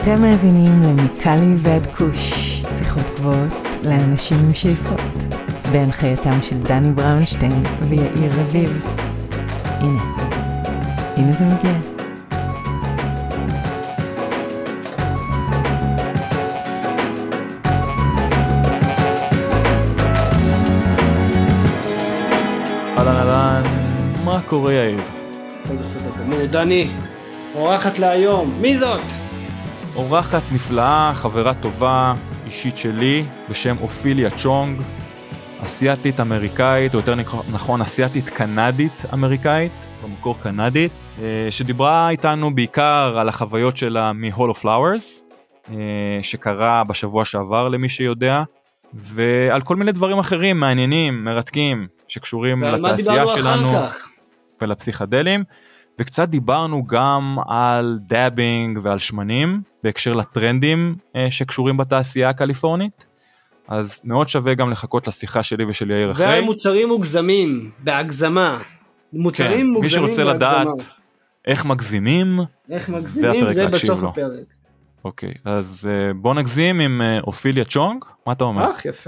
אתם מאזינים למיקלי ועד כוש, שיחות גבוהות לאנשים עם שאיפות, בהנחייתם של דני בראונשטיין ויאיר רביב. הנה זה מגיע. אהלן, מה קורה יאיר? הכל בסדר גמור, דני, אורחת להיום, מי זאת? אורחת נפלאה, חברה טובה, אישית שלי, בשם אופיליה צ'ונג, אסיאתית אמריקאית, או יותר נכון אסיאתית קנדית אמריקאית, במקור קנדית, שדיברה איתנו בעיקר על החוויות שלה מ-Hall of Flowers, שקרה בשבוע שעבר למי שיודע, ועל כל מיני דברים אחרים מעניינים, מרתקים, שקשורים לתעשייה שלנו ולפסיכדלים, וקצת דיברנו גם על דאבינג ועל שמנים, בהקשר לטרנדים שקשורים בתעשייה הקליפורנית, אז מאוד שווה גם לחכות לשיחה שלי ושל יאיר אחרי. ועל מוצרים מוגזמים, בהגזמה. מוצרים מוגזמים בהגזמה. מי שרוצה לדעת איך מגזימים, זה בסוף הפרק. אוקיי, אז בוא נגזים עם אופיליה צ'ונג, מה אתה אומר? יפה.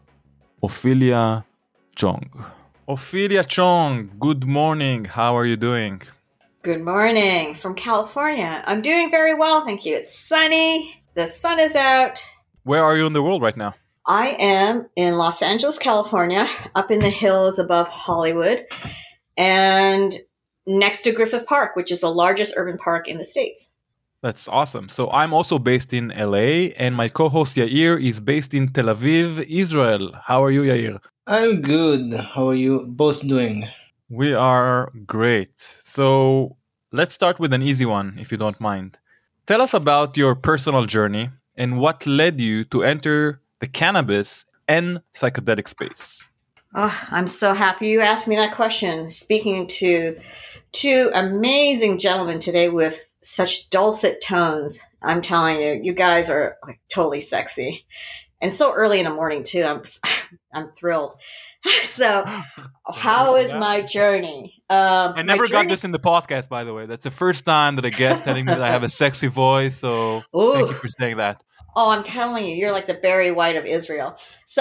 אופיליה צ'ונג. Ophelia Chong, good morning. How are you doing? Good morning from California. I'm doing very well, thank you. It's sunny. The sun is out. Where are you in the world right now? I am in Los Angeles, California, up in the hills above Hollywood, and next to Griffith Park, which is the largest urban park in the States. That's awesome. So I'm also based in LA, and my co-host Yair is based in Tel Aviv, Israel. How are you, Yair? I'm good. How are you both doing? We are great. So let's start with an easy one, if you don't mind. Tell us about your personal journey and what led you to enter the cannabis and psychedelic space. Oh, I'm so happy you asked me that question. Speaking to two amazing gentlemen today with such dulcet tones. I'm telling you, you guys are like totally sexy. And so early in the morning too. I'm thrilled. So how is my journey? I never got this in the podcast, by the way. That's the first time that a guest telling me that I have a sexy voice. So thank you for saying that. Oh, I'm telling you, you're like the Barry White of Israel. So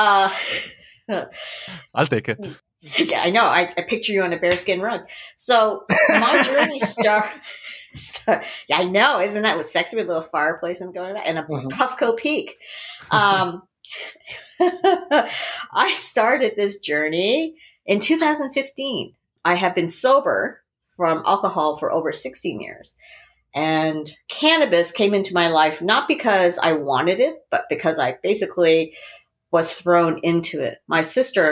I'll take it. Yeah, I know. I picture you on a bearskin rug. So my journey started. Yeah, I know. Isn't that was sexy with a little fireplace and going and a Puffco Peak? I started this journey in 2015. I have been sober from alcohol for over 16 years. And cannabis came into my life not because I wanted it, but because I basically was thrown into it. My sister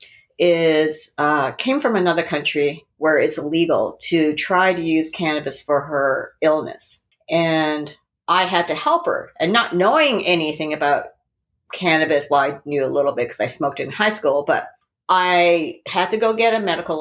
came from another country where it's illegal to try to use cannabis for her illness. And I had to help her. And not knowing anything about cannabis, well, I knew a little bit because I smoked it in high school, but I had to go get a medical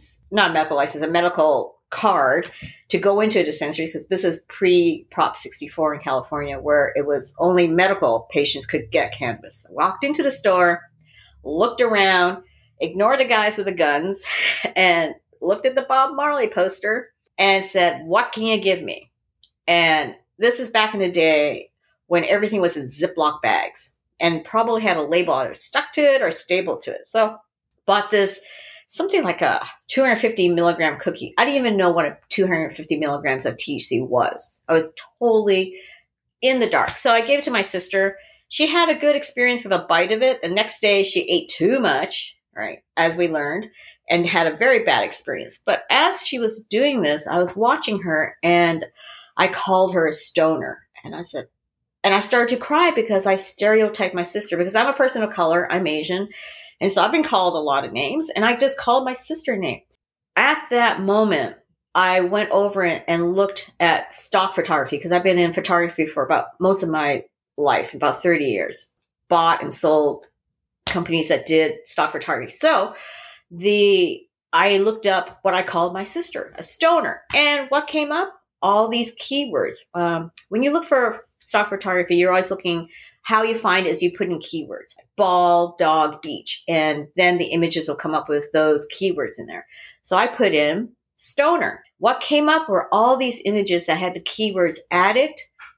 card to go into a dispensary because this is pre-Prop 64 in California where it was only medical patients could get cannabis. I walked into the store, looked around, ignored the guys with the guns, and looked at the Bob Marley poster and said, what can you give me? And this is back in the day when everything was in Ziploc bags and probably had a label either stuck to it or stapled to it. So bought this, something like a 250 milligram cookie. I didn't even know what a 250 milligrams of THC was. I was totally in the dark. So I gave it to my sister. She had a good experience with a bite of it. The next day she ate too much, right, as we learned, and had a very bad experience. But as she was doing this, I was watching her and I called her a stoner. And I said, and I started to cry because I stereotyped my sister because I'm a person of color. I'm Asian. And so I've been called a lot of names and I just called my sister name. At that moment, I went over and looked at stock photography because I've been in photography for about most of my life, about 30 years, bought and sold companies that did stock photography. So I looked up what I called my sister, a stoner. And what came up? All these keywords. When you look for stock photography, you're always looking, how you find is you put in keywords, like ball, dog, beach, and then the images will come up with those keywords in there. So I put in stoner. What came up were all these images that had the keywords addict,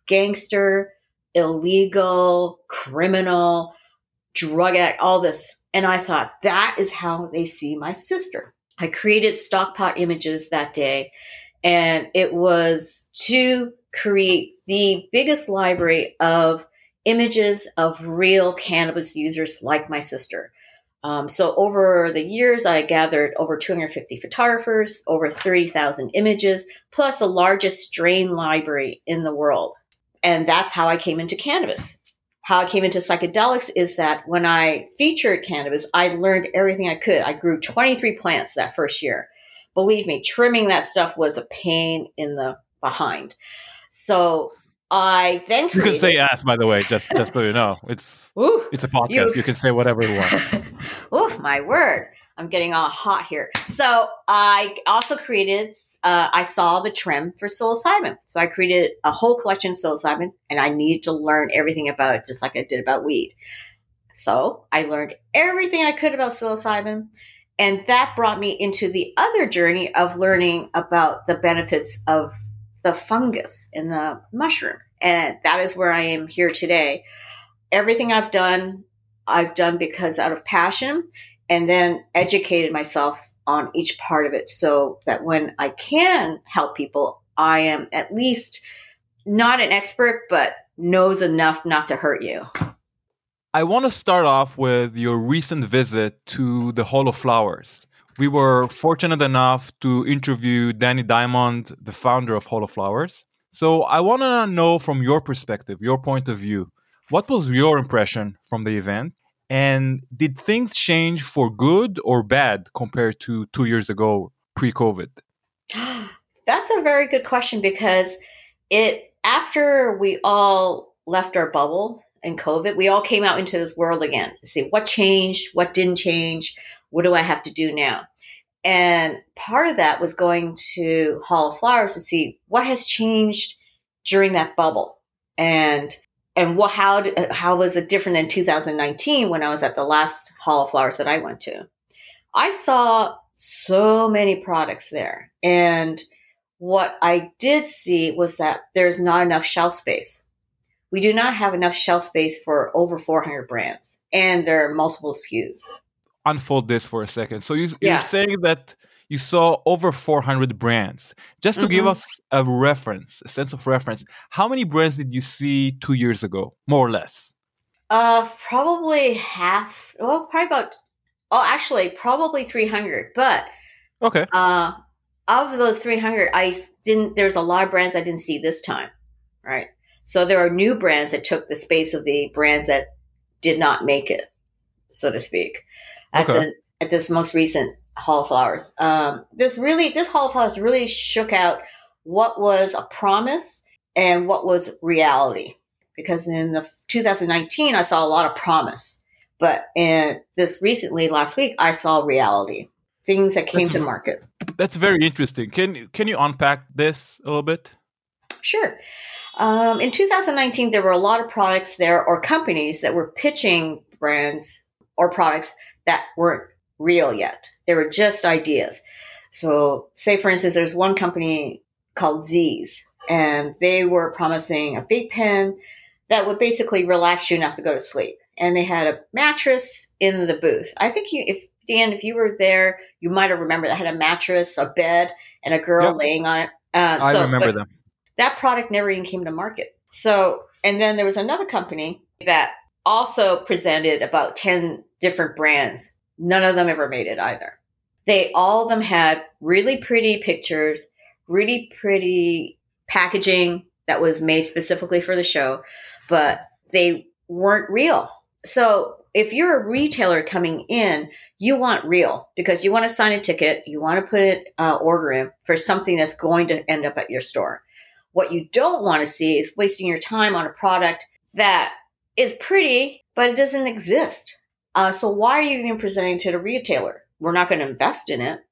gangster, illegal, criminal, drug addict, all this. And I thought, that is how they see my sister. I created stockpot images that day, and it was to create the biggest library of images of real cannabis users like my sister. So over the years, I gathered over 250 photographers, over 30,000 images, plus the largest strain library in the world. And that's how I came into cannabis. How I came into psychedelics is that when I featured cannabis, I learned everything I could. I grew 23 plants that first year. Believe me, trimming that stuff was a pain in the behind. So I then created... You can say ass, by the way, just so you know. It's a podcast. You can say whatever you want. Oof, my word. I'm getting all hot here. So I also created, I saw the trend for psilocybin. So I created a whole collection of psilocybin, and I needed to learn everything about it, just like I did about weed. So I learned everything I could about psilocybin. And that brought me into the other journey of learning about the benefits of the fungus in the mushroom. And that is where I am here today. Everything I've done because out of passion, and then educated myself on each part of it so that when I can help people, I am at least not an expert, but knows enough not to hurt you. I want to start off with your recent visit to the Hall of Flowers. We were fortunate enough to interview Danny Diamond, the founder of Hall of Flowers. So I want to know from your perspective, your point of view, what was your impression from the event? And did things change for good or bad compared to 2 years ago, pre-COVID? That's a very good question, because after we all left our bubble in COVID, we all came out into this world again to see what changed, what didn't change, what do I have to do now? And part of that was going to Hall of Flowers to see what has changed during that bubble, and how was it different than 2019 when I was at the last Hall of Flowers that I went to? I saw so many products there, and what I did see was that there's not enough shelf space. We do not have enough shelf space for over 400 brands, and there are multiple SKUs. Unfold this for a second. So you're saying that you saw over 400 brands. Just to give us a sense of reference, how many brands did you see 2 years ago, more or less? Probably half. Well, probably 300. But okay, of those 300, there's a lot of brands I didn't see this time, right? So there are new brands that took the space of the brands that did not make it, so to speak, at this most recent Hall of Flowers. This Hall of Flowers really shook out what was a promise and what was reality. Because in the 2019, I saw a lot of promise, but in this recently, last week, I saw reality, things that came to market. That's very interesting. Can you unpack this a little bit? Sure. In 2019, there were a lot of products there, or companies that were pitching brands or products that weren't real yet. They were just ideas. So say, for instance, there's one company called Z's, and they were promising a vape pen that would basically relax you enough to go to sleep. And they had a mattress in the booth. I think if you were there, you might have remembered that had a mattress, a bed, and a girl laying on it. I remember them. That product never even came to market. So, and then there was another company that also presented about 10 different brands. None of them ever made it either. All of them had really pretty pictures, really pretty packaging that was made specifically for the show, but they weren't real. So if you're a retailer coming in, you want real, because you want to sign a ticket, you want to put an order in for something that's going to end up at your store. What you don't want to see is wasting your time on a product that is pretty, but it doesn't exist. So why are you even presenting to the retailer? We're not going to invest in it.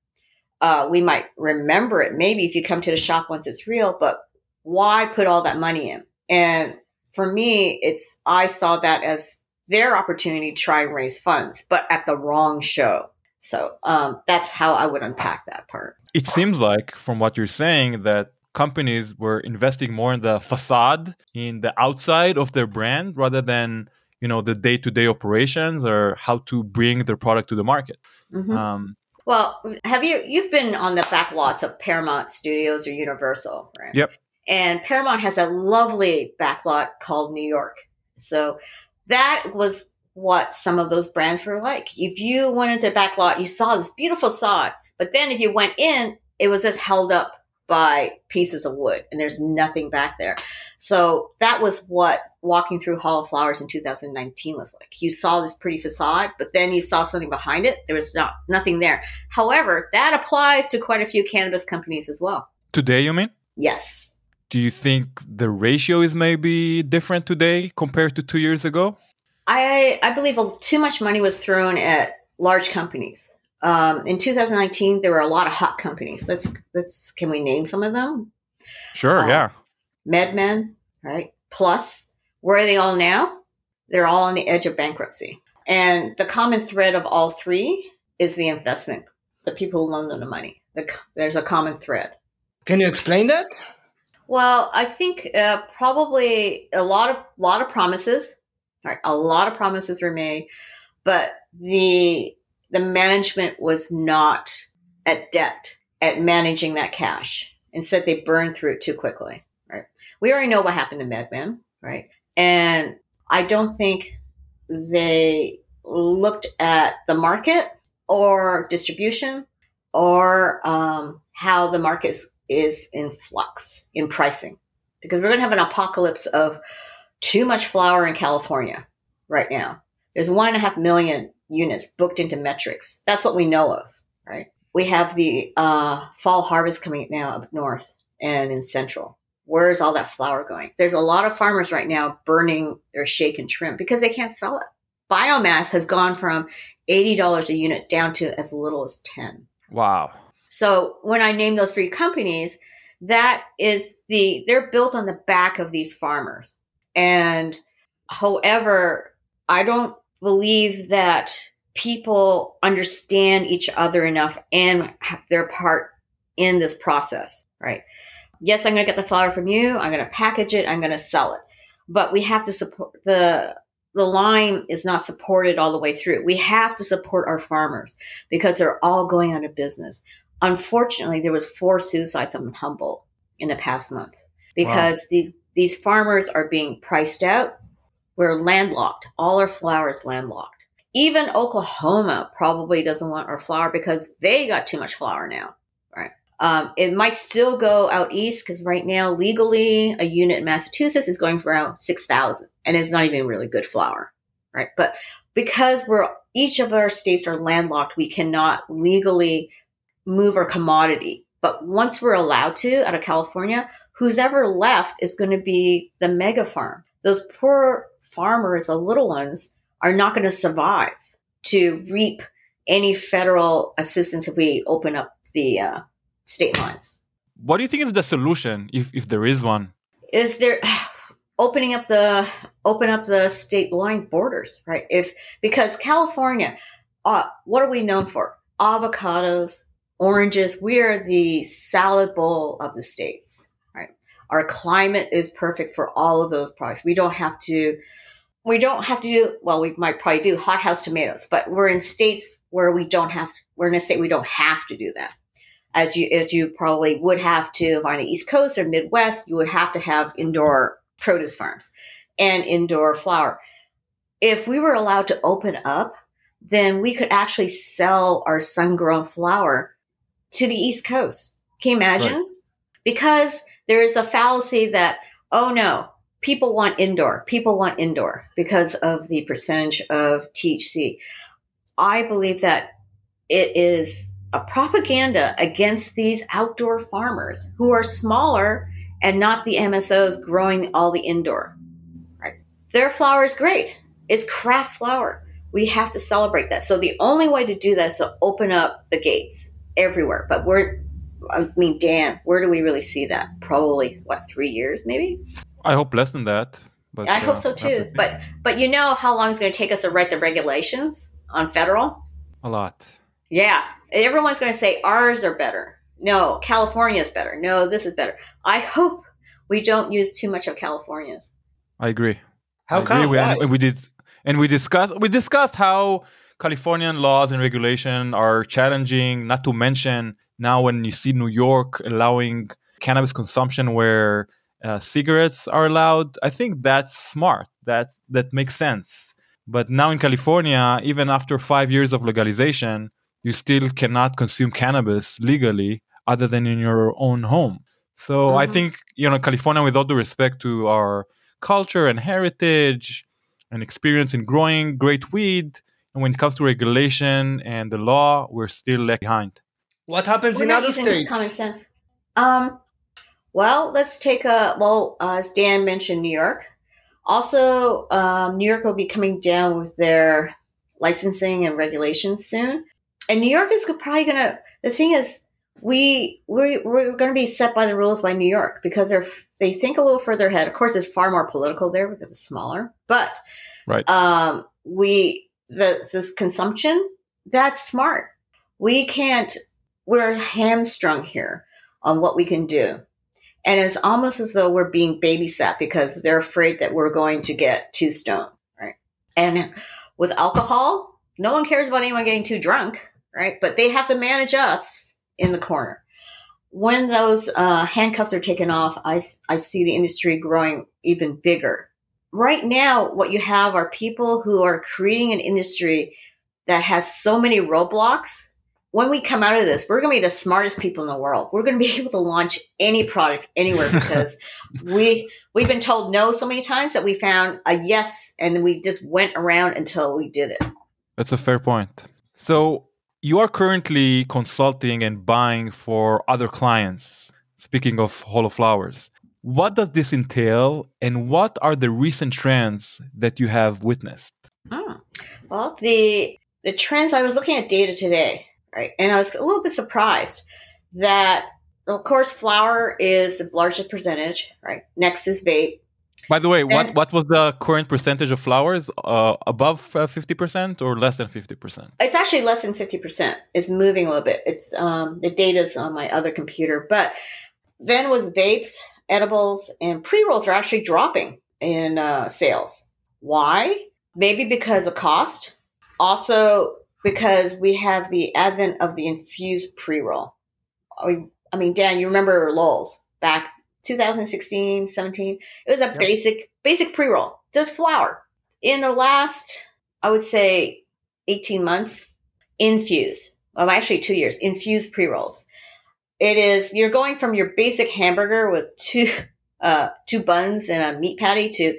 We might remember it maybe if you come to the shop once it's real, but why put all that money in? And for me, I saw that as their opportunity to try and raise funds, but at the wrong show. So that's how I would unpack that part. It seems like, from what you're saying, that companies were investing more in the facade, in the outside of their brand, rather than the day-to-day operations or how to bring their product to the market. Well, you've been on the back lots of Paramount Studios or Universal, right? Yep. And Paramount has a lovely backlot called New York. So that was what some of those brands were like. If you went into the backlot, you saw this beautiful facade, but then if you went in, it was just held up by pieces of wood and there's nothing back there. So that was what walking through Hall of Flowers in 2019 was like. You saw this pretty facade, but then you saw something behind it. There was nothing there. However, that applies to quite a few cannabis companies as well. Today, you mean? Yes. Do you think the ratio is maybe different today compared to 2 years ago? I believe too much money was thrown at large companies. In 2019, there were a lot of hot companies. Can we name some of them? Sure, yeah. MedMen, right? Plus, where are they all now? They're all on the edge of bankruptcy. And the common thread of all three is the investment, the people who loan them the money. There's a common thread. Can you explain that? Well, I think probably a lot of promises. Right, a lot of promises were made, but the management was not adept at managing that cash. Instead, they burned through it too quickly. Right, we already know what happened to MedMen, right? And I don't think they looked at the market or distribution or how the market is in flux in pricing, because we're going to have an apocalypse of too much flower in California right now. There's 1.5 million units booked into metrics. That's what we know of, right? We have the fall harvest coming now up north and in central. Where is all that flower going? There's a lot of farmers right now burning their shake and trim because they can't sell it. Biomass has gone from $80 a unit down to as little as 10. Wow. So when I name those three companies, they're built on the back of these farmers. And however, I don't believe that people understand each other enough and have their part in this process, right? Yes, I'm going to get the flower from you. I'm going to package it. I'm going to sell it. But we have to support the line is not supported all the way through. We have to support our farmers because they're all going out of business. Unfortunately, there was 4 suicides up in Humboldt in the past month because these farmers are being priced out. We're landlocked. All our flower is landlocked. Even Oklahoma probably doesn't want our flower because they got too much flower now, right? It might still go out east because right now, legally, a unit in Massachusetts is going for around $6,000, and it's not even really good flower, right? But because each of our states are landlocked, we cannot legally move our commodity. But once we're allowed to, out of California, who's ever left is going to be the mega farm. Those poor farmers, the little ones, are not going to survive to reap any federal assistance if we open up the state lines. What do you think is the solution, if there is one? If they're open up the state line borders, right? Because California, what are we known for? Avocados, oranges. We are the salad bowl of the states, right? Our climate is perfect for all of those products. We don't have to do, well, we might probably do hothouse tomatoes, but we're in states where we're in a state we don't have to do that. As you probably would have to, if on the East Coast or Midwest, you would have to have indoor produce farms and indoor flower. If we were allowed to open up, then we could actually sell our sun-grown flower to the East Coast. Can you imagine? Right. Because there is a fallacy that, oh no, people want indoor because of the percentage of THC. I believe that it is a propaganda against these outdoor farmers who are smaller and not the MSOs growing all the indoor. Right? Their flower is great. It's craft flower. We have to celebrate that. So the only way to do that is to open up the gates everywhere. But Dan, where do we really see that? Probably, 3 years maybe? I hope less than that. But I hope so too. But you know how long it's going to take us to write the regulations on federal? A lot. Yeah. Everyone's going to say ours are better. no, California is better. No, this is better. I hope we don't use too much of California's. I agree. How come? Why? We discussed how Californian laws and regulation are challenging, not to mention now when you see New York allowing cannabis consumption where cigarettes are allowed. I think that's smart. That makes sense. But now in California, even after 5 years of legalization, you still cannot consume cannabis legally other than in your own home. So I think, California, with all due respect to our culture and heritage and experience in growing great weed, and when it comes to regulation and the law, we're still left behind. What happens We're in not other using states? common sense. Well, let's take as Dan mentioned, New York. Also, New York will be coming down with their licensing and regulations soon. And New York is probably going to, the thing is, we're going to be set by the rules by New York because they think a little further ahead. Of course, it's far more political there because it's smaller. But right. This consumption, that's smart. We're hamstrung here on what we can do. And it's almost as though we're being babysat because they're afraid that we're going to get too stoned, right? And with alcohol, no one cares about anyone getting too drunk, right? But they have to manage us in the corner. When those handcuffs are taken off, I see the industry growing even bigger. Right now, what you have are people who are creating an industry that has so many roadblocks. When we come out of this, we're going to be the smartest people in the world. We're going to be able to launch any product anywhere because we've been told no so many times that we found a yes, and then we just went around until we did it. That's a fair point. So you are currently consulting and buying for other clients. Speaking of Holo Flowers, what does this entail, and what are the recent trends that you have witnessed? Well, the trends, I was looking at data today. Right. And I was a little bit surprised that, of course, flower is the largest percentage, right? Next is vape. By the way, what was the current percentage of flowers? Above 50% or less than 50%? It's actually less than 50%. It's moving a little bit. It's the data's on my other computer. But then was vapes, edibles, and pre-rolls are actually dropping in sales. Why? Maybe because of cost. Also, because we have the advent of the infused pre-roll. I mean, Dan, you remember Lowell's back 2016, 17? It was a basic pre-roll, just flower. In the last, I would say, 18 months, infused. Well, actually 2 years, infused pre-rolls. It is, you're going from your basic hamburger with two buns and a meat patty to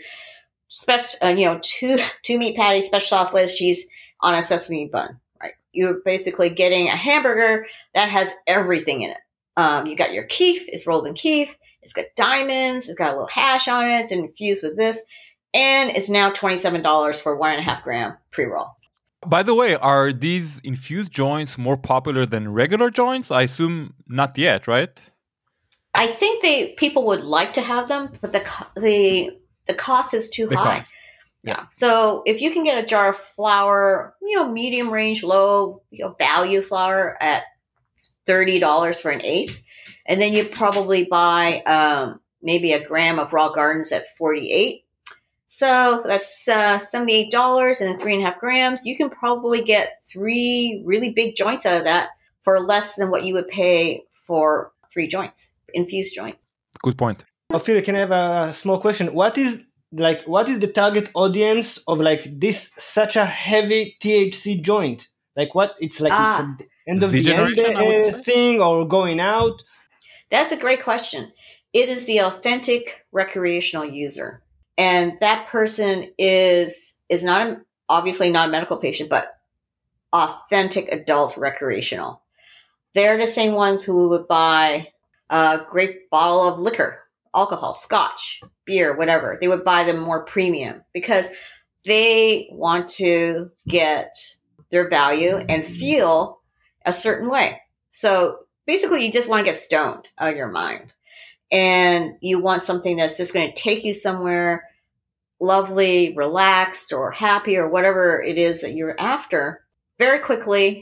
two meat patties, special sauce, lettuce, cheese, on a sesame bun, right? You're basically getting a hamburger that has everything in it. You got your keef, it's rolled in keef. It's got diamonds. It's got a little hash on it. It's infused with this. And it's now $27 for 1.5 gram pre-roll. By the way, are these infused joints more popular than regular joints? I assume not yet, right? I think people would like to have them, but the cost is too high. Cost. Yeah. So if you can get a jar of flour, medium range, low, value flour at $30 for an eighth, and then you probably buy maybe a gram of Raw Gardens at $48. So that's $78, and then 3.5 grams. You can probably get 3 really big joints out of that for less than what you would pay for 3 joints, infused joints. Good point. Ophelia, can I have a small question? What is the target audience of this such a heavy THC joint? It's an end of the end thing or going out? That's a great question. It is the authentic recreational user. And that person is obviously not a medical patient, but authentic adult recreational. They're the same ones who would buy a great bottle of liquor, alcohol, scotch, beer, whatever. They would buy them more premium because they want to get their value and feel a certain way. So basically, you just want to get stoned out of your mind. And you want something that's just going to take you somewhere lovely, relaxed, or happy, or whatever it is that you're after very quickly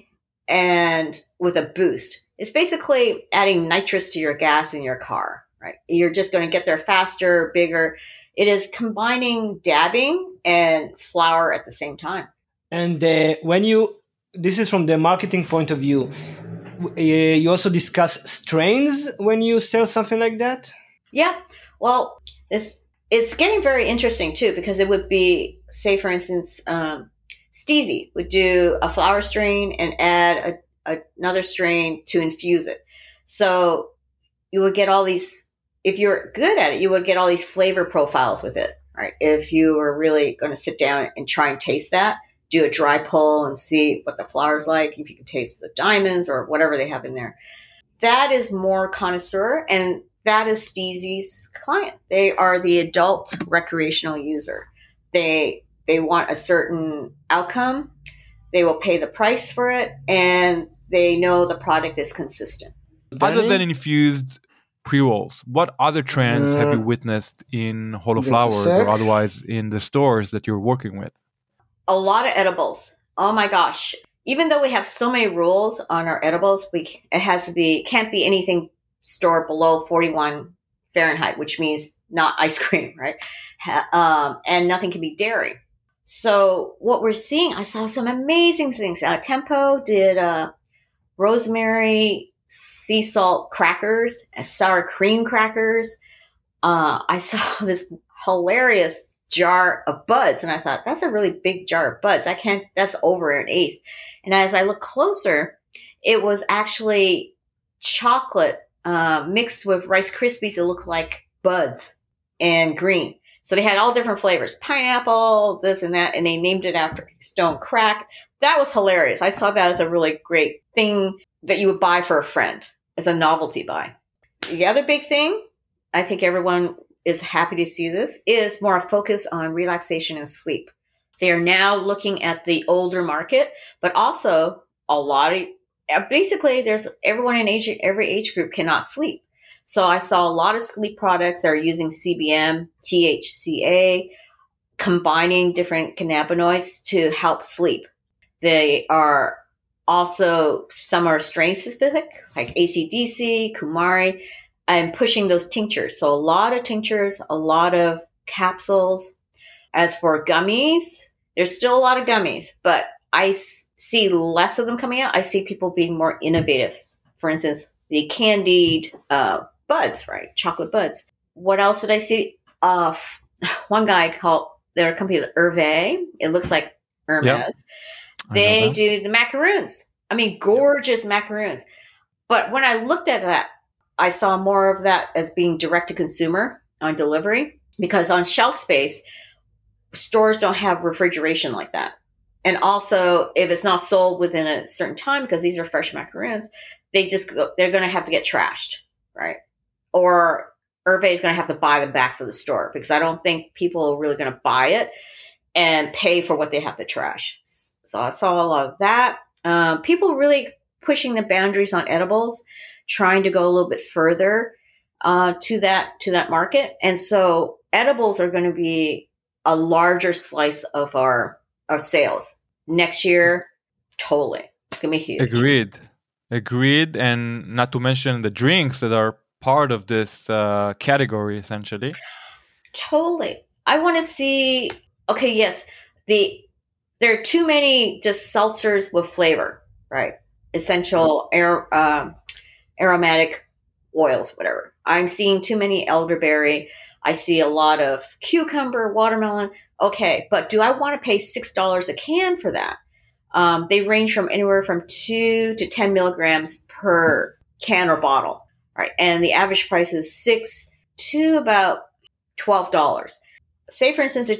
and with a boost. It's basically adding nitrous to your gas in your car, right? You're just going to get there faster, bigger. It is combining dabbing and flour at the same time. And this is from the marketing point of view, you also discuss strains when you sell something like that? Yeah. Well, it's getting very interesting too, because it would be, say, for instance, Steezy would do a flower strain and add another strain to infuse it. So you would get all these, if you're good at it, you would get all these flavor profiles with it, right? If you were really going to sit down and try and taste that, do a dry pull and see what the flower's like, if you can taste the diamonds or whatever they have in there. That is more connoisseur, and that is Steezy's client. They are the adult recreational user. They want a certain outcome. They will pay the price for it, and they know the product is consistent. Other than infused pre-rolls, what other trends have you witnessed in Holo Flowers or otherwise in the stores that you're working with? A lot of edibles. Oh my gosh. Even though we have so many rules on our edibles, can't be anything stored below 41 Fahrenheit, which means not ice cream, right? And nothing can be dairy. So what we're seeing, I saw some amazing things. Tempo did rosemary sea salt crackers and sour cream crackers. I saw this hilarious jar of buds, and I thought, that's a really big jar of buds. That's over an eighth. And as I look closer, it was actually chocolate mixed with Rice Krispies that looked like buds and green. So they had all different flavors, pineapple, this and that, and they named it after Stone Crack. That was hilarious. I saw that as a really great thing that you would buy for a friend as a novelty buy. The other big thing, I think everyone is happy to see this, is more a focus on relaxation and sleep. They are now looking at the older market, but also basically there's everyone in every age group cannot sleep. So I saw a lot of sleep products that are using CBN, THCA, combining different cannabinoids to help sleep. They are also, some are strain specific, like ACDC, Kumari, and pushing those tinctures. So a lot of tinctures, a lot of capsules. As for gummies, there's still a lot of gummies, but I see less of them coming out. I see people being more innovative. For instance, the candied buds, right? Chocolate buds. What else did I see? One guy their company is Hervé. It looks like Hermes. Yep. They do the macaroons. I mean, gorgeous macaroons. But when I looked at that, I saw more of that as being direct to consumer on delivery, because on shelf space, stores don't have refrigeration like that. And also, if it's not sold within a certain time, because these are fresh macaroons, they're going to have to get trashed, right? Or Hervé is going to have to buy them back for the store, because I don't think people are really going to buy it and pay for what they have to trash. So I saw a lot of that. People really pushing the boundaries on edibles, trying to go a little bit further to that market. And so edibles are going to be a larger slice of our sales next year. Totally. It's going to be huge. Agreed. And not to mention the drinks that are part of this category, essentially. Totally. I want to see, okay, yes, there are too many just seltzers with flavor, right? Essential aromatic oils, whatever. I'm seeing too many elderberry. I see a lot of cucumber, watermelon. Okay, but do I want to pay $6 a can for that? They range from anywhere from 2 to 10 milligrams per can or bottle, right? And the average price is $6 to about $12. Say, for instance, the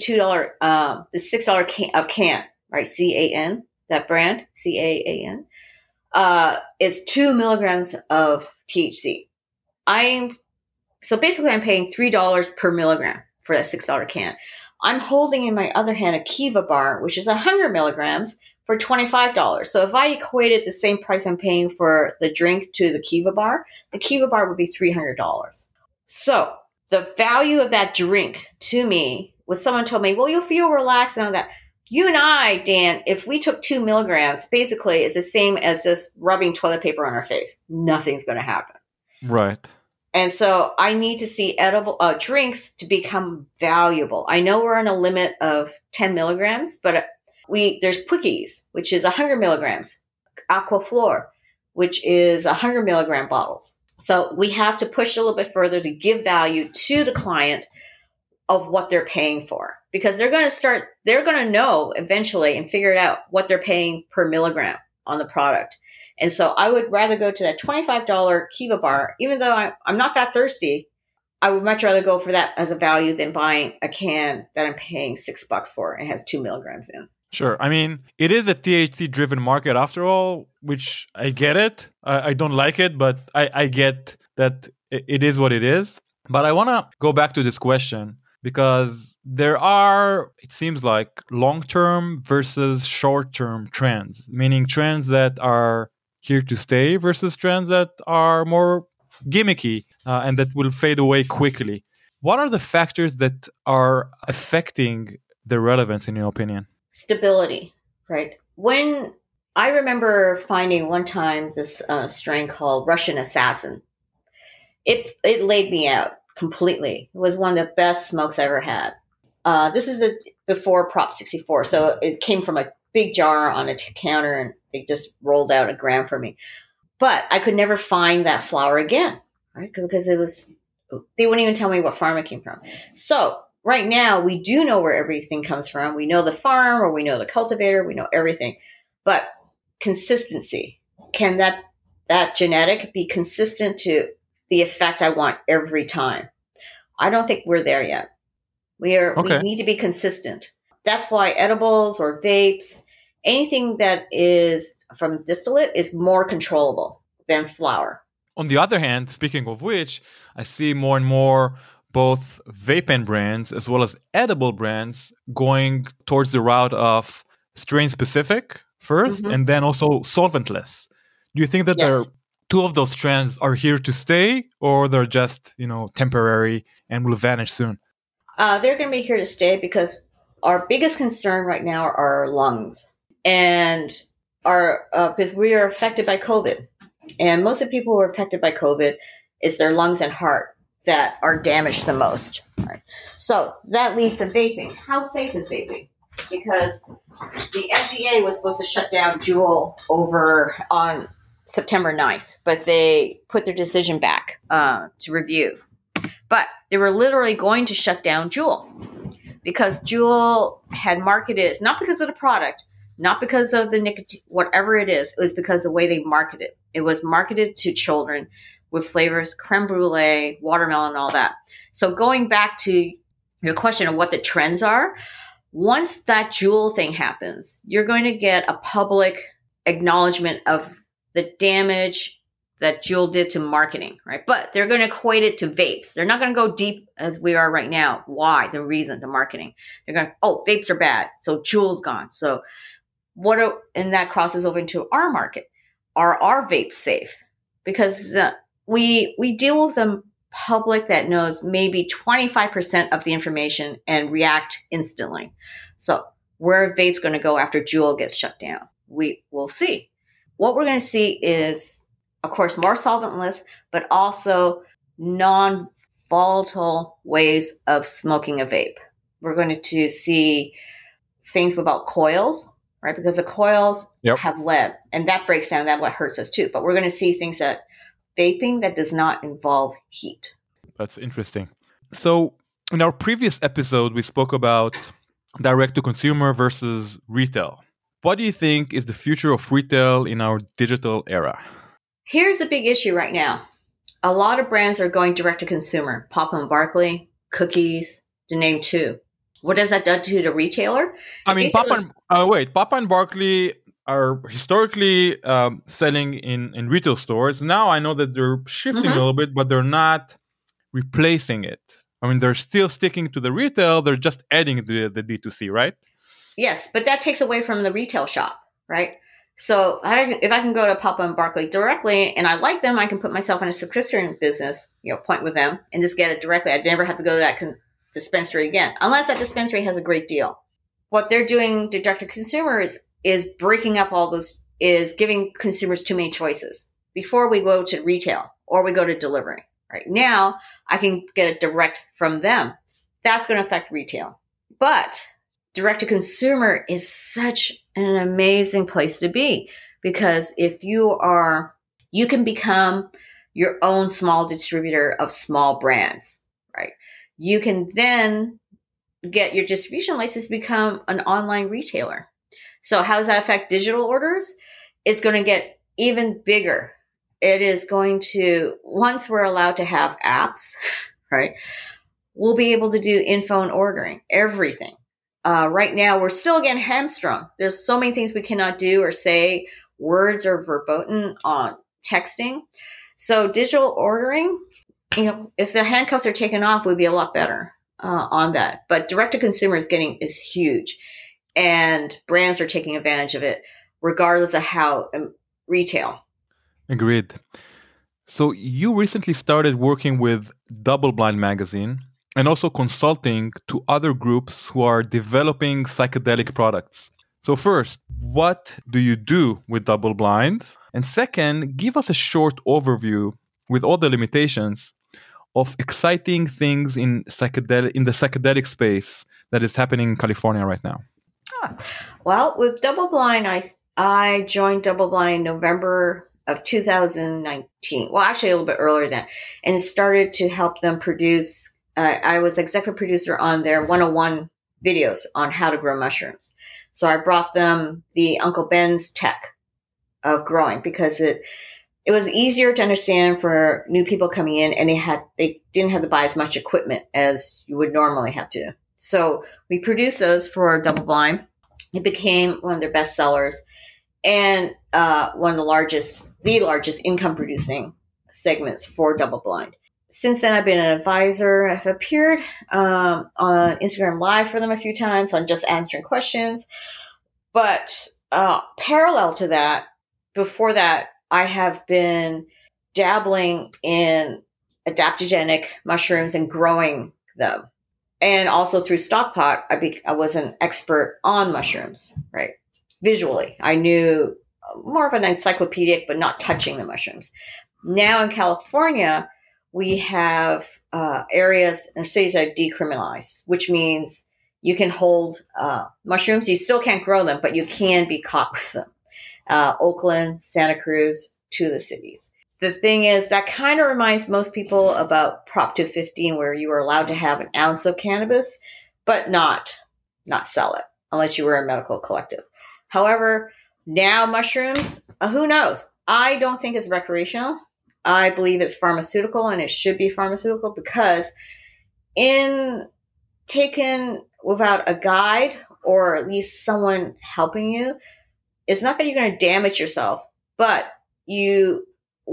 $6 can, right? CAN, that brand, CAAN, is 2 milligrams of THC. So basically I'm paying $3 per milligram for that $6 can. I'm holding in my other hand a Kiva bar, which is 100 milligrams for $25. So if I equated the same price I'm paying for the drink to the Kiva bar would be $300. So the value of that drink to me, when someone told me, well, you'll feel relaxed and all that, You and I, Dan, if we took 2 milligrams, basically it's the same as just rubbing toilet paper on our face. Nothing's going to happen. Right. And so I need to see edible drinks to become valuable. I know we're on a limit of 10 milligrams, but there's Quickies, which is 100 milligrams, Aquaflor, which is 100 milligram bottles. So we have to push a little bit further to give value to the client of what they're paying for, because they're going to know eventually and figure it out what they're paying per milligram on the product. And so I would rather go to that $25 Kiva bar, even though I'm not that thirsty. I would much rather go for that as a value than buying a can that I'm paying $6 for and has 2 milligrams in. Sure. I mean, it is a THC-driven market after all, which I get it. I don't like it, but I get that it is what it is. But I want to go back to this question because there are, it seems like, long-term versus short-term trends, meaning trends that are here to stay versus trends that are more gimmicky and that will fade away quickly. What are the factors that are affecting the relevance, in your opinion? Stability, right? When I remember finding one time this strain called Russian Assassin, it laid me out completely. It was one of the best smokes I ever had. This is before Prop 64, so it came from a big jar on a counter, and they just rolled out a gram for me. But I could never find that flower again, right? Because they wouldn't even tell me what farm it came from. So right now, we do know where everything comes from. We know the farm, or we know the cultivator. We know everything. But consistency. Can that genetic be consistent to the effect I want every time? I don't think we're there yet. We need to be consistent. That's why edibles or vapes, anything that is from distillate is more controllable than flower. On the other hand, speaking of which, I see more and more both vape pen brands as well as edible brands going towards the route of strain-specific first, and then also solventless. Do you think that there are two of those trends are here to stay, or they're just, temporary and will vanish soon? They're going to be here to stay because our biggest concern right now are our lungs, and because we are affected by COVID, and most of the people who are affected by COVID, it's their lungs and heart that are damaged the most. Right? So that leads to vaping. How safe is vaping? Because the FDA was supposed to shut down Juul over on September 9th, but they put their decision back to review. But they were literally going to shut down Juul because Juul had marketed it, not because of the product, not because of the nicotine, whatever it was because of the way they marketed it. It was marketed to children with flavors, creme brulee, watermelon, and all that. So going back to your question of what the trends are, once that Juul thing happens, you're going to get a public acknowledgement of the damage that Juul did to marketing, right? But they're going to equate it to vapes. They're not going to go deep as we are right now. Why? The reason, the marketing. They're going, vapes are bad, so Juul's gone. So and that crosses over into our market. Are our vapes safe? Because we deal with a public that knows maybe 25% of the information and react instantly. So where are vapes going to go after Juul gets shut down? We will see. What we're going to see is, of course, more solventless, but also non-volatile ways of smoking a vape. We're going to see things without coils, right? Because the coils have lead, and that breaks down. That's what hurts us too. But we're going to see things that vaping that does not involve heat. That's interesting. So in our previous episode, we spoke about direct-to-consumer versus retail. What do you think is the future of retail in our digital era? Here's the big issue right now. A lot of brands are going direct-to-consumer. Papa & Barkley, Cookies, to name two. What does that do to the retailer? I mean, Papa and Barkley are historically selling in retail stores. Now I know that they're shifting a little bit, but they're not replacing it. I mean, they're still sticking to the retail. They're just adding the D2C, right? Yes, but that takes away from the retail shop, right? So if I can go to Papa & Barkley directly and I like them, I can put myself in a subscription business, point with them and just get it directly. I'd never have to go to that dispensary again, unless that dispensary has a great deal. what they're doing to direct to consumer is breaking up all those, is giving consumers too many choices. Before we go to retail or we go to delivery, right now I can get it direct from them. That's going to affect retail. But direct to consumer is such an amazing place to be, because if you can become your own small distributor of small brands, right? You can then get your distribution license to become an online retailer. So how does that affect digital orders? It's going to get even bigger. It is going to, once we're allowed to have apps, right, we'll be able to do in-phone ordering, everything. Right now, we're still getting hamstrung. There's so many things we cannot do or say. Words are verboten on texting. So digital ordering, if the handcuffs are taken off, we'd be a lot better on that. But direct-to-consumer is huge. And brands are taking advantage of it, regardless of how retail. Agreed. So you recently started working with Double Blind magazine and also consulting to other groups who are developing psychedelic products. So first, what do you do with Double Blind? And second, give us a short overview with all the limitations of exciting things in the psychedelic space that is happening in California right now. Well, with Double Blind, I joined Double Blind November of 2019. Well, actually a little bit earlier than that, and started to help them produce. I was executive producer on their 101 videos on how to grow mushrooms. So I brought them the Uncle Ben's tech of growing, because it was easier to understand for new people coming in, and they didn't have to buy as much equipment as you would normally have to. So we produced those for Double Blind. It became one of their best sellers and one of the largest income producing segments for Double Blind. Since then, I've been an advisor. I've appeared on Instagram Live for them a few times on just answering questions. But parallel to that, before that, I have been dabbling in adaptogenic mushrooms and growing them. And also through Stockpot, I was an expert on mushrooms, right? Visually, I knew more of an encyclopedic, but not touching the mushrooms. Now in California, we have areas and cities that are decriminalized, which means you can hold mushrooms. You still can't grow them, but you can be caught with them. Oakland, Santa Cruz, two of the cities. The thing is, that kind of reminds most people about Prop 215, where you were allowed to have an ounce of cannabis, but not sell it unless you were a medical collective. However, now mushrooms, who knows? I don't think it's recreational. I believe it's pharmaceutical, and it should be pharmaceutical, because in taken without a guide or at least someone helping you, it's not that you're going to damage yourself, but you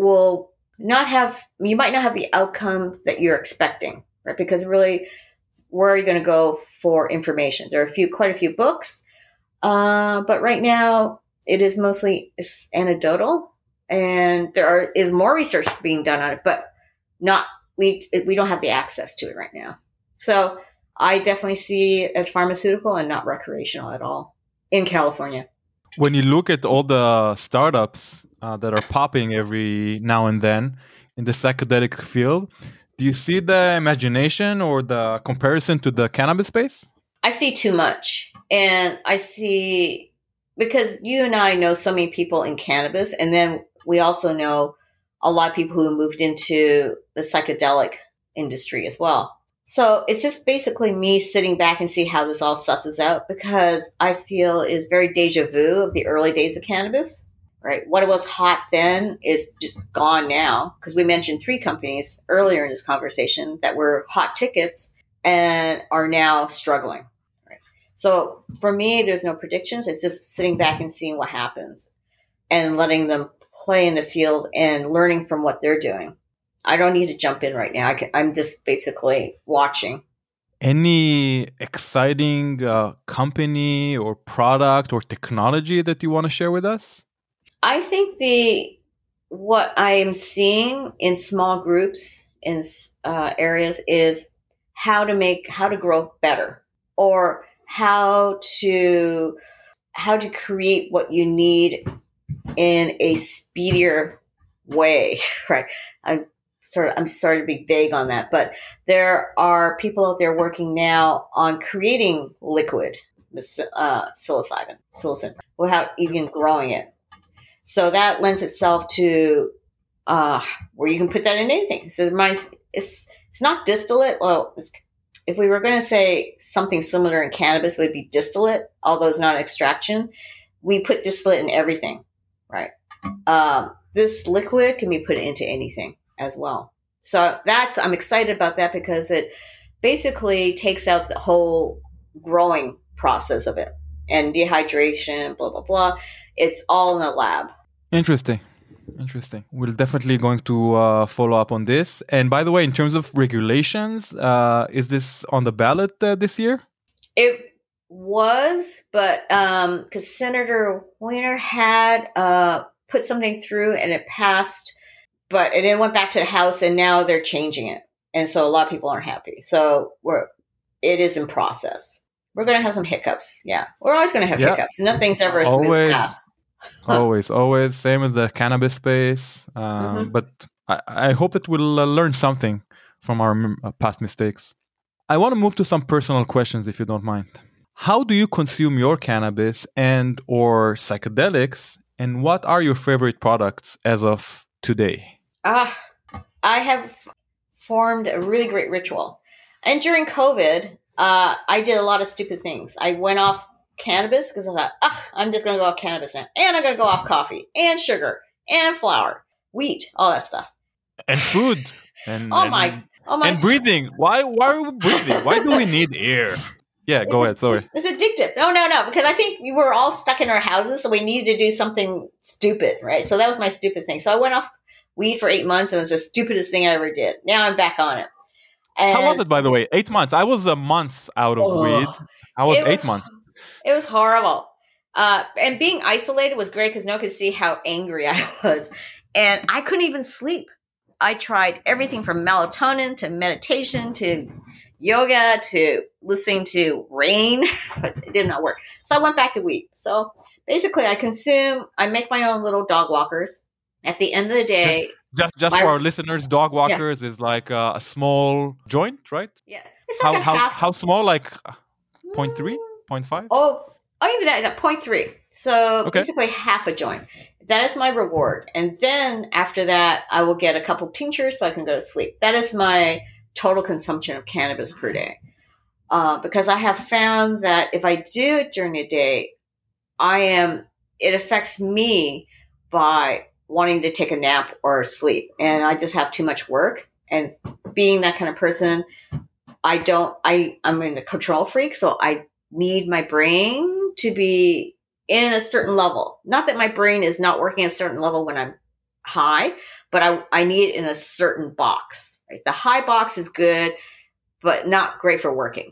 might not have the outcome that you're expecting, right? Because really, where are you going to go for information? There are quite a few books, but right now it is mostly anecdotal, and there is more research being done on it, but we don't have the access to it right now. So I definitely see it as pharmaceutical and not recreational at all in California. When you look at all the startups that are popping every now and then in the psychedelic field, do you see the imagination or the comparison to the cannabis space? I see too much. And I see, because you and I know so many people in cannabis, and then we also know a lot of people who moved into the psychedelic industry as well. So it's just basically me sitting back and see how this all susses out, because I feel it is very deja vu of the early days of cannabis, right? What was hot then is just gone now, because we mentioned 3 companies earlier in this conversation that were hot tickets and are now struggling, right? So for me, there's no predictions. It's just sitting back and seeing what happens and letting them play in the field and learning from what they're doing. I don't need to jump in right now. I'm just basically watching. Any exciting company or product or technology that you want to share with us? I think what I am seeing in small groups in areas is how to grow better, or how to create what you need in a speedier way, right? I'm sorry to be vague on that, but there are people out there working now on creating liquid psilocybin without even growing it. So that lends itself to where you can put that in anything. So it's not distillate. Well, if we were going to say something similar in cannabis, it would be distillate, although it's not extraction. We put distillate in everything, right? This liquid can be put into anything as well. So I'm excited about that because it basically takes out the whole growing process of it and dehydration, blah, blah, blah. It's all in the lab. Interesting. We're definitely going to follow up on this. And by the way, in terms of regulations, is this on the ballot this year? It was, but because Senator Weiner had put something through and it passed, but it then went back to the House and now they're changing it. And so a lot of people aren't happy. So it is in process. We're going to have some hiccups. Yeah. We're always going to have hiccups. Nothing's ever a smooth path. Always. Same as the cannabis space. But I hope that we'll learn something from our past mistakes. I want to move to some personal questions, if you don't mind. How do you consume your cannabis and or psychedelics? And what are your favorite products as of today? I have formed a really great ritual. And during COVID, I did a lot of stupid things. I went off cannabis because I thought, I'm just going to go off cannabis now. And I'm going to go off coffee and sugar and flour, wheat, all that stuff. And food. And breathing. Why are we breathing? Why do we need air? Yeah, go ahead. Sorry. It's addictive. No. Because I think we were all stuck in our houses, so we needed to do something stupid, right? So that was my stupid thing. So I went off weed for 8 months, and it was the stupidest thing I ever did. Now I'm back on it. And how was it, by the way? 8 months. I was a month out of weed. I was 8 months. It was horrible. And being isolated was great because no one could see how angry I was. And I couldn't even sleep. I tried everything from melatonin to meditation to yoga to listening to rain, but it did not work. So I went back to weed. So basically I make my own little dog walkers. At the end of the day, just for our listeners, dog walkers is like a small joint, right? Yeah. It's like how small? Like 0.3, 0.5? Oh, even that 0.3. So basically half a joint. That is my reward. And then after that, I will get a couple tinctures so I can go to sleep. That is my total consumption of cannabis per day. Because I have found that if I do it during the day, it affects me by wanting to take a nap or sleep. And I just have too much work. And being that kind of person, I'm a control freak. So I need my brain to be in a certain level. Not that my brain is not working at a certain level when I'm high, but I need it in a certain box. Right? The high box is good, but not great for working.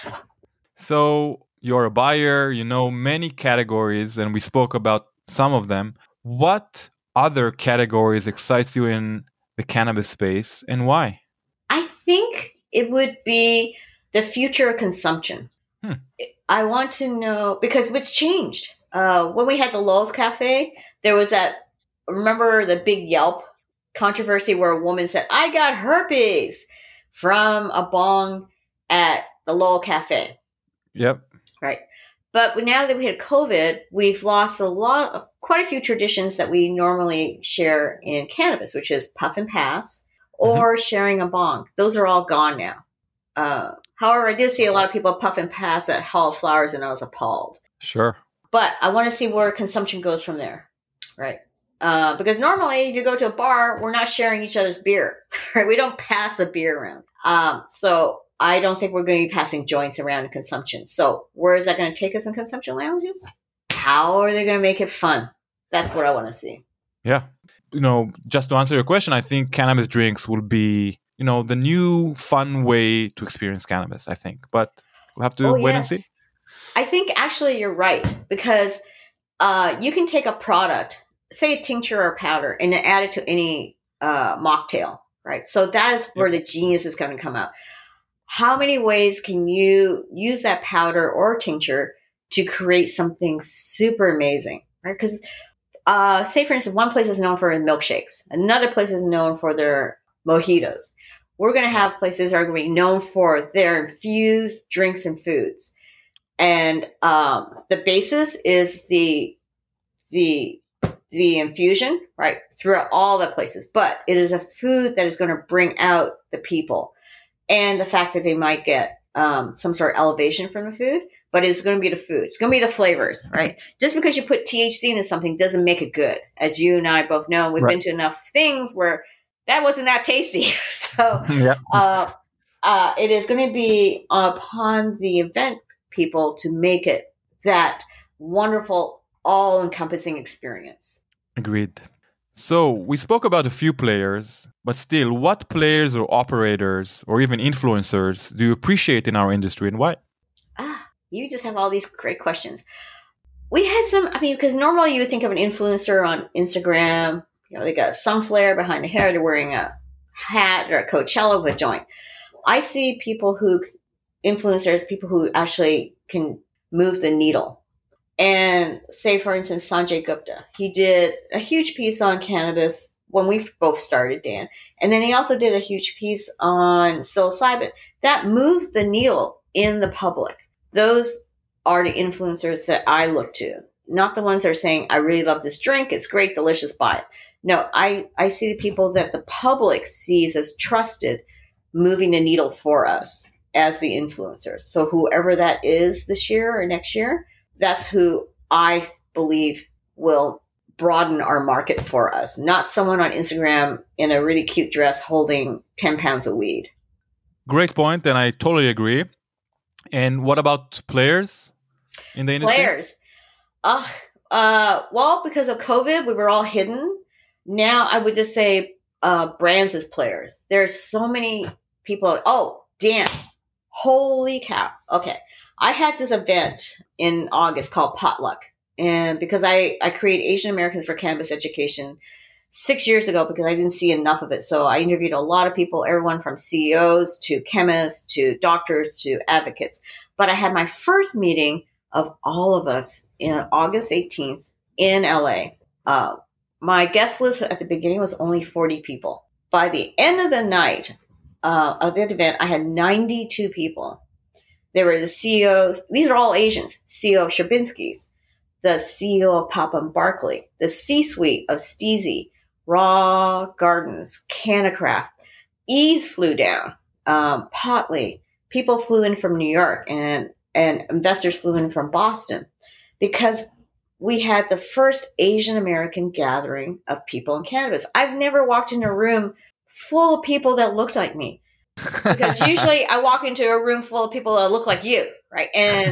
So you're a buyer, you know many categories, and we spoke about some of them. What other categories excites you in the cannabis space and why? I think it would be the future of consumption. I want to know, because what's changed. When we had the Lowell's Cafe, there was remember the big Yelp controversy where a woman said, I got herpes from a bong at the Lowell Cafe. Yep. Right. But now that we had COVID, we've lost quite a few traditions that we normally share in cannabis, which is puff and pass or sharing a bong. Those are all gone now. However, I did see a lot of people puff and pass at Hall of Flowers, and I was appalled. Sure. But I want to see where consumption goes from there, right? Because normally, if you go to a bar, we're not sharing each other's beer, right? We don't pass the beer around. So I don't think we're going to be passing joints around in consumption. So where is that going to take us in consumption lounges? How are they going to make it fun? That's what I want to see. Yeah. Just to answer your question, I think cannabis drinks will be, the new fun way to experience cannabis, I think. But we'll have to wait and see. I think actually you're right, because you can take a product, say a tincture or powder, and then add it to any mocktail, right? So that is where the genius is going to come out. how many ways can you use that powder or tincture to create something super amazing, right? Because say, for instance, one place is known for milkshakes. Another place is known for their mojitos. We're going to have places that are going to be known for their infused drinks and foods. And the basis is the infusion, right, throughout all the places. But it is a food that is going to bring out the people. And the fact that they might get some sort of elevation from the food. But it's going to be the food. It's going to be the flavors, right? Just because you put THC into something doesn't make it good. As you and I both know, we've been to enough things where that wasn't that tasty. So it is going to be upon the event people to make it that wonderful, all-encompassing experience. Agreed. So we spoke about a few players, but still, what players or operators or even influencers do you appreciate in our industry and why? You just have all these great questions. We had some, because normally you would think of an influencer on Instagram, they got a sunflare behind the hair, they're wearing a hat or a Coachella with a joint. I see influencers, people who actually can move the needle. And say, for instance, Sanjay Gupta, he did a huge piece on cannabis when we both started, Dan. And then he also did a huge piece on psilocybin. That moved the needle in the public. Those are the influencers that I look to, not the ones that are saying, I really love this drink. It's great, delicious, buy it. No, I see the people that the public sees as trusted, moving the needle for us as the influencers. So whoever that is this year or next year, that's who I believe will broaden our market for us, not someone on Instagram in a really cute dress holding 10 pounds of weed. Great point, and I totally agree. And what about players in the industry? Players. Well, because of COVID, we were all hidden. Now I would just say brands as players. There's so many people. Oh, damn. Holy cow. Okay. I had this event in August called Potluck. And because I created Asian Americans for Cannabis Education 6 years ago because I didn't see enough of it. So I interviewed a lot of people, everyone from CEOs to chemists to doctors to advocates. But I had my first meeting of all of us in August 18th in LA. My guest list at the beginning was only 40 people. By the end of the night of that event, I had 92 people. They were the CEO. These are all Asians. CEO of Sherbinsky's, the CEO of Papa and Barkley, the C-suite of Steezy, Raw Gardens, Canacraft. Ease flew down. Potley. People flew in from New York and investors flew in from Boston because we had the first Asian American gathering of people in cannabis. I've never walked in a room full of people that looked like me. Because usually I walk into a room full of people that look like you, right?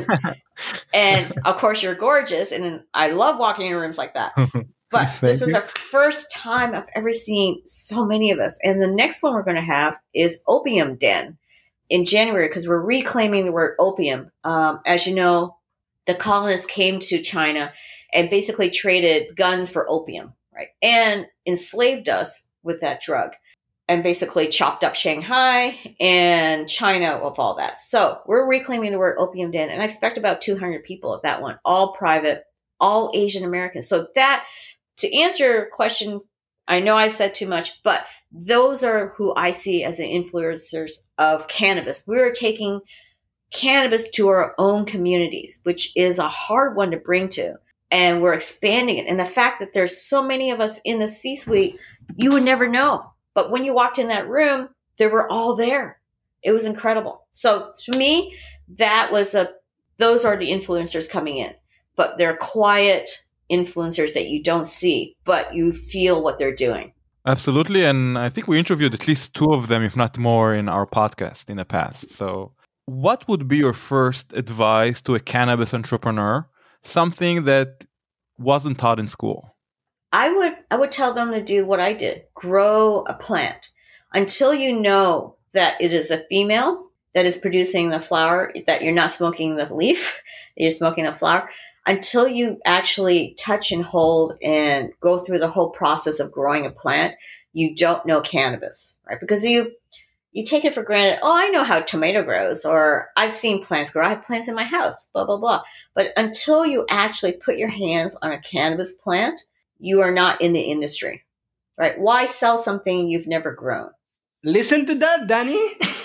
And of course you're gorgeous, and I love walking in rooms like that. But this is the first time I've ever seen so many of us. And the next one we're going to have is Opium Den in January because we're reclaiming the word opium. As you know, the colonists came to China and basically traded guns for opium, right? And enslaved us with that drug. And basically chopped up Shanghai and China of all that. So we're reclaiming the word Opium Den, and I expect about 200 people at that one, all private, all Asian Americans. So that, to answer your question, I know I said too much, but those are who I see as the influencers of cannabis. We're taking cannabis to our own communities, which is a hard one to bring to, and we're expanding it. And the fact that there's so many of us in the C-suite, you would never know. But when you walked in that room, they were all there. It was incredible. So to me, those are the influencers coming in. But they're quiet influencers that you don't see, but you feel what they're doing. Absolutely. And I think we interviewed at least 2 of them, if not more, in our podcast in the past. So what would be your first advice to a cannabis entrepreneur? Something that wasn't taught in school. I would tell them to do what I did. Grow a plant until you know that it is a female that is producing the flower, that you're not smoking the leaf, you're smoking the flower. Until you actually touch and hold and go through the whole process of growing a plant, you don't know cannabis, right? Because you take it for granted. Oh, I know how tomato grows, or I've seen plants grow. I have plants in my house, blah, blah, blah. But until you actually put your hands on a cannabis plant, you are not in the industry, right? Why sell something you've never grown? Listen to that, Danny.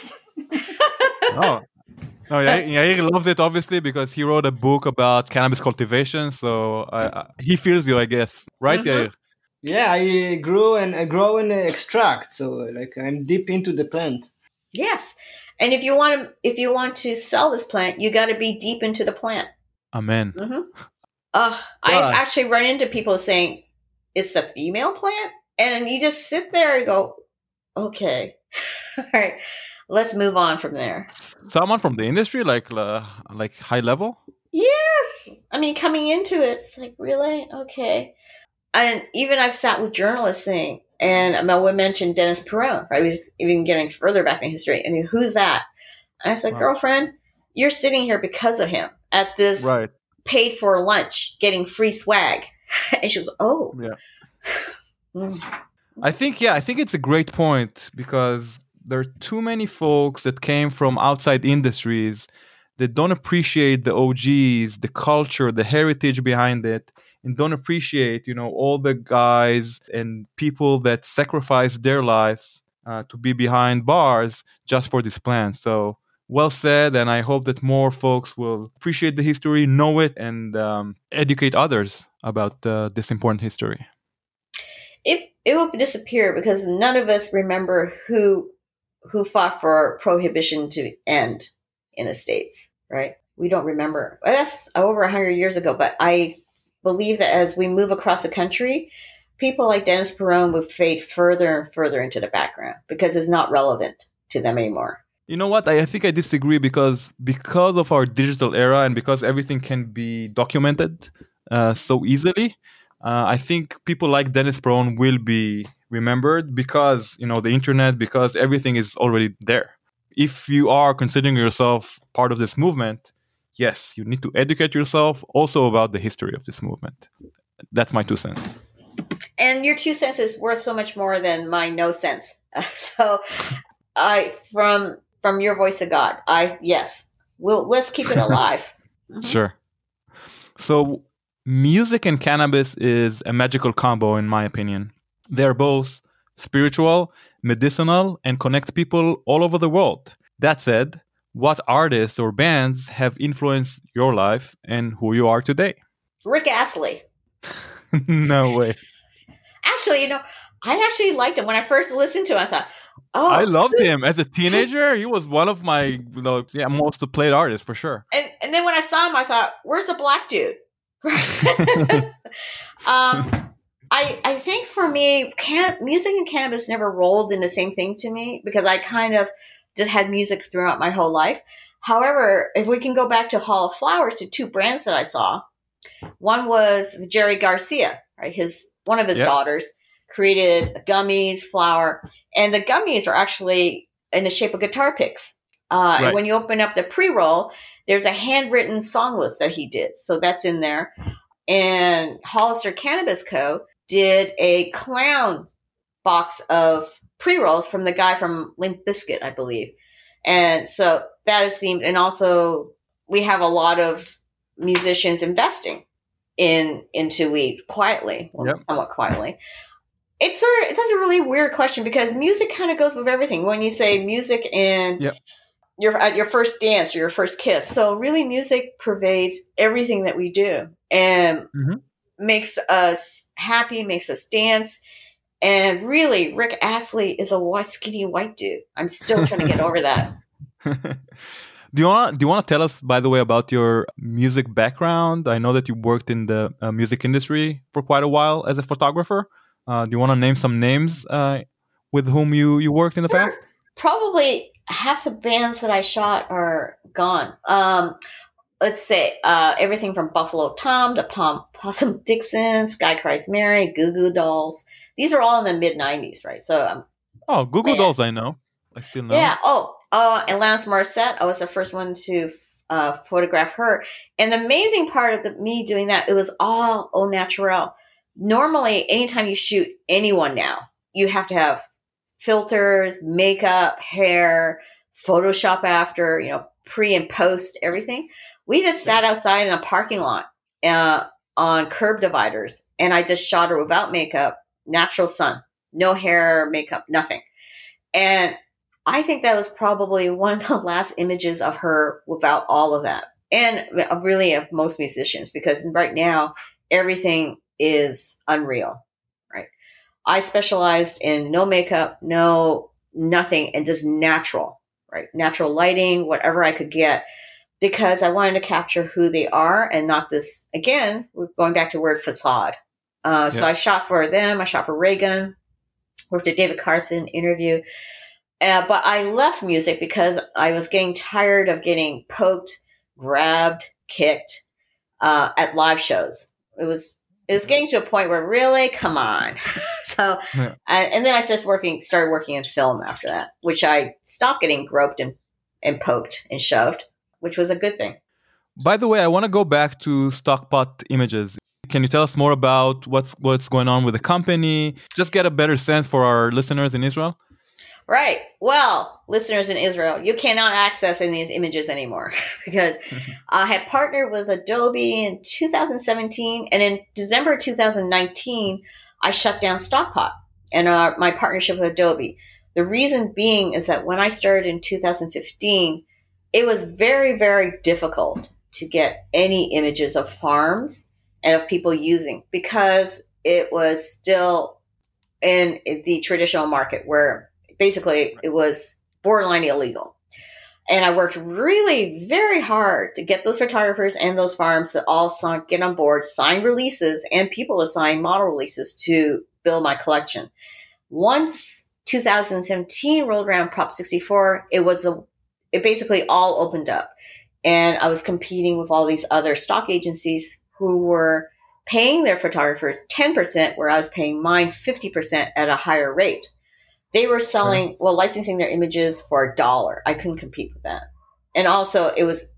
Oh. No, Yair loves it, obviously, because he wrote a book about cannabis cultivation. So he feels you, I guess. Right, Yair? Yeah, I grow and extract. So like I'm deep into the plant. Yes. And if you want to sell this plant, you got to be deep into the plant. Amen. I actually run into people saying it's a female plant, and you just sit there and go, okay, all right, let's move on from there. Someone from the industry, like high level? Yes. I mean, coming into it, it's like, really? Okay. And even I've sat with journalists saying, and we mentioned Dennis Perron, right? We was even getting further back in history. And who's that? And I said, girlfriend, you're sitting here because of him at this paid for lunch, getting free swag. And she was, oh. Yeah. I think it's a great point, because there are too many folks that came from outside industries that don't appreciate the OGs, the culture, the heritage behind it, and don't appreciate, all the guys and people that sacrificed their lives to be behind bars just for this plant. So well said, and I hope that more folks will appreciate the history, know it, and educate others about this important history. It will disappear because none of us remember who fought for prohibition to end in the States, right? We don't remember. That's over 100 years ago, but I believe that as we move across the country, people like Dennis Perron will fade further and further into the background because it's not relevant to them anymore. You know what? I think I disagree because of our digital era and because everything can be documented so easily. I think people like Dennis Perron will be remembered because, the internet, because everything is already there. If you are considering yourself part of this movement, yes, you need to educate yourself also about the history of this movement. That's my 2 cents. And your 2 cents is worth so much more than my no sense. So from your voice of God, let's keep it alive. Sure. So music and cannabis is a magical combo, in my opinion. They're both spiritual, medicinal, and connect people all over the world. That said, what artists or bands have influenced your life and who you are today? Rick Astley. No way. Actually, I actually liked him. When I first listened to him, I thought, oh. I loved him. As a teenager, he was one of my most played artists, for sure. And then when I saw him, I thought, where's the black dude? I think for me, music and cannabis never rolled in the same thing to me because I kind of just had music throughout my whole life. However, if we can go back to Hall of Flowers, to 2 brands that I saw, one was Jerry Garcia, right? One of his daughters created gummies, flour, and the gummies are actually in the shape of guitar picks. And when you open up the pre-roll, there's a handwritten song list that he did. So that's in there. And Hollister Cannabis Co. did a clown box of pre-rolls from the guy from Limp Bizkit, I believe. And so that is themed. And also we have a lot of musicians investing into weed quietly, somewhat quietly. That's a really weird question because music kind of goes with everything. When you say music and your first dance or your first kiss. So really music pervades everything that we do and makes us happy, makes us dance. And really, Rick Astley is a skinny white dude. I'm still trying to get over that. Do you want to tell us, by the way, about your music background? I know that you worked in the music industry for quite a while as a photographer. Do you want to name some names with whom you worked in the past? Probably half the bands that I shot are gone. Let's say everything from Buffalo Tom to Possum Dixon, Sky Cries Mary, Goo Goo Dolls. These are all in the mid-'90s, right? So, Goo Goo Dolls, I know. I still know. Yeah. Alanis Morissette. I was the first one to photograph her. And the amazing part of me doing that, it was all au naturel. Normally, anytime you shoot anyone now, you have to have filters, makeup, hair, Photoshop after, pre and post, everything. We just sat outside in a parking lot on curb dividers, and I just shot her without makeup, natural sun, no hair, makeup, nothing. And I think that was probably one of the last images of her without all of that. And really of most musicians, because right now everything is unreal, right? I specialized in no makeup, no nothing, and just natural, right? Natural lighting, whatever I could get, because I wanted to capture who they are and not this, again, we're going back to the word facade. So I shot for them. I shot for Reagan, worked at David Carson interview. But I left music because I was getting tired of getting poked, grabbed, kicked at live shows. It was getting to a point where really, come on. So, and then I started working in film after that, which I stopped getting groped and poked and shoved, which was a good thing. By the way, I want to go back to Stockpot Images. Can you tell us more about what's going on with the company? Just get a better sense for our listeners in Israel. Right. Well, listeners in Israel, you cannot access any of these images anymore because I had partnered with Adobe in 2017, and in December 2019, I shut down Stockpot and my partnership with Adobe. The reason being is that when I started in 2015, it was very, very difficult to get any images of farms and of people using, because it was still in the traditional market where basically it was borderline illegal. And I worked really very hard to get those photographers and those farms to all get on board, sign releases, and people to sign model releases to build my collection. Once 2017 rolled around, Prop 64, it basically all opened up. And I was competing with all these other stock agencies who were paying their photographers 10%, where I was paying mine 50% at a higher rate. They were licensing their images for $1. I couldn't compete with that. And also it was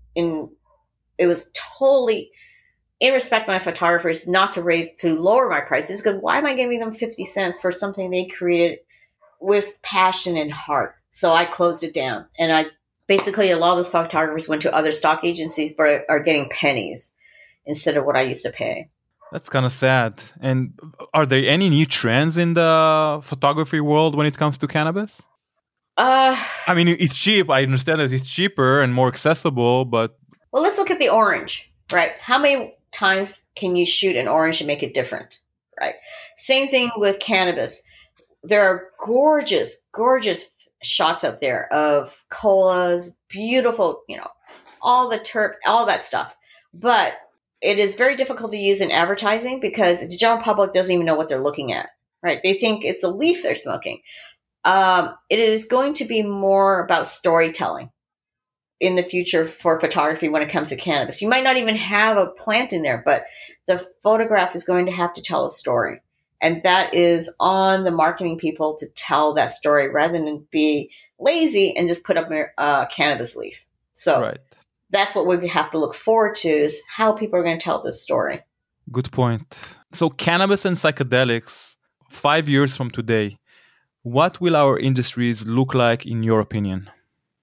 totally in respect of my photographers not to lower my prices, because why am I giving them 50 cents for something they created with passion and heart? So I closed it down. And basically a lot of those photographers went to other stock agencies, but are getting pennies instead of what I used to pay. That's kind of sad. And are there any new trends in the photography world when it comes to cannabis? I mean, it's cheap. I understand that it's cheaper and more accessible, but... Well, let's look at the orange, right? How many times can you shoot an orange and make it different, right? Same thing with cannabis. There are gorgeous, gorgeous shots out there of colas, beautiful, all the terps, all that stuff. But it is very difficult to use in advertising because the general public doesn't even know what they're looking at, right? They think it's a leaf they're smoking. It is going to be more about storytelling in the future for photography when it comes to cannabis. You might not even have a plant in there, but the photograph is going to have to tell a story. And that is on the marketing people to tell that story rather than be lazy and just put up a cannabis leaf. So right. That's what we have to look forward to, is how people are going to tell this story. Good point. So cannabis and psychedelics, 5 years from today, what will our industries look like in your opinion?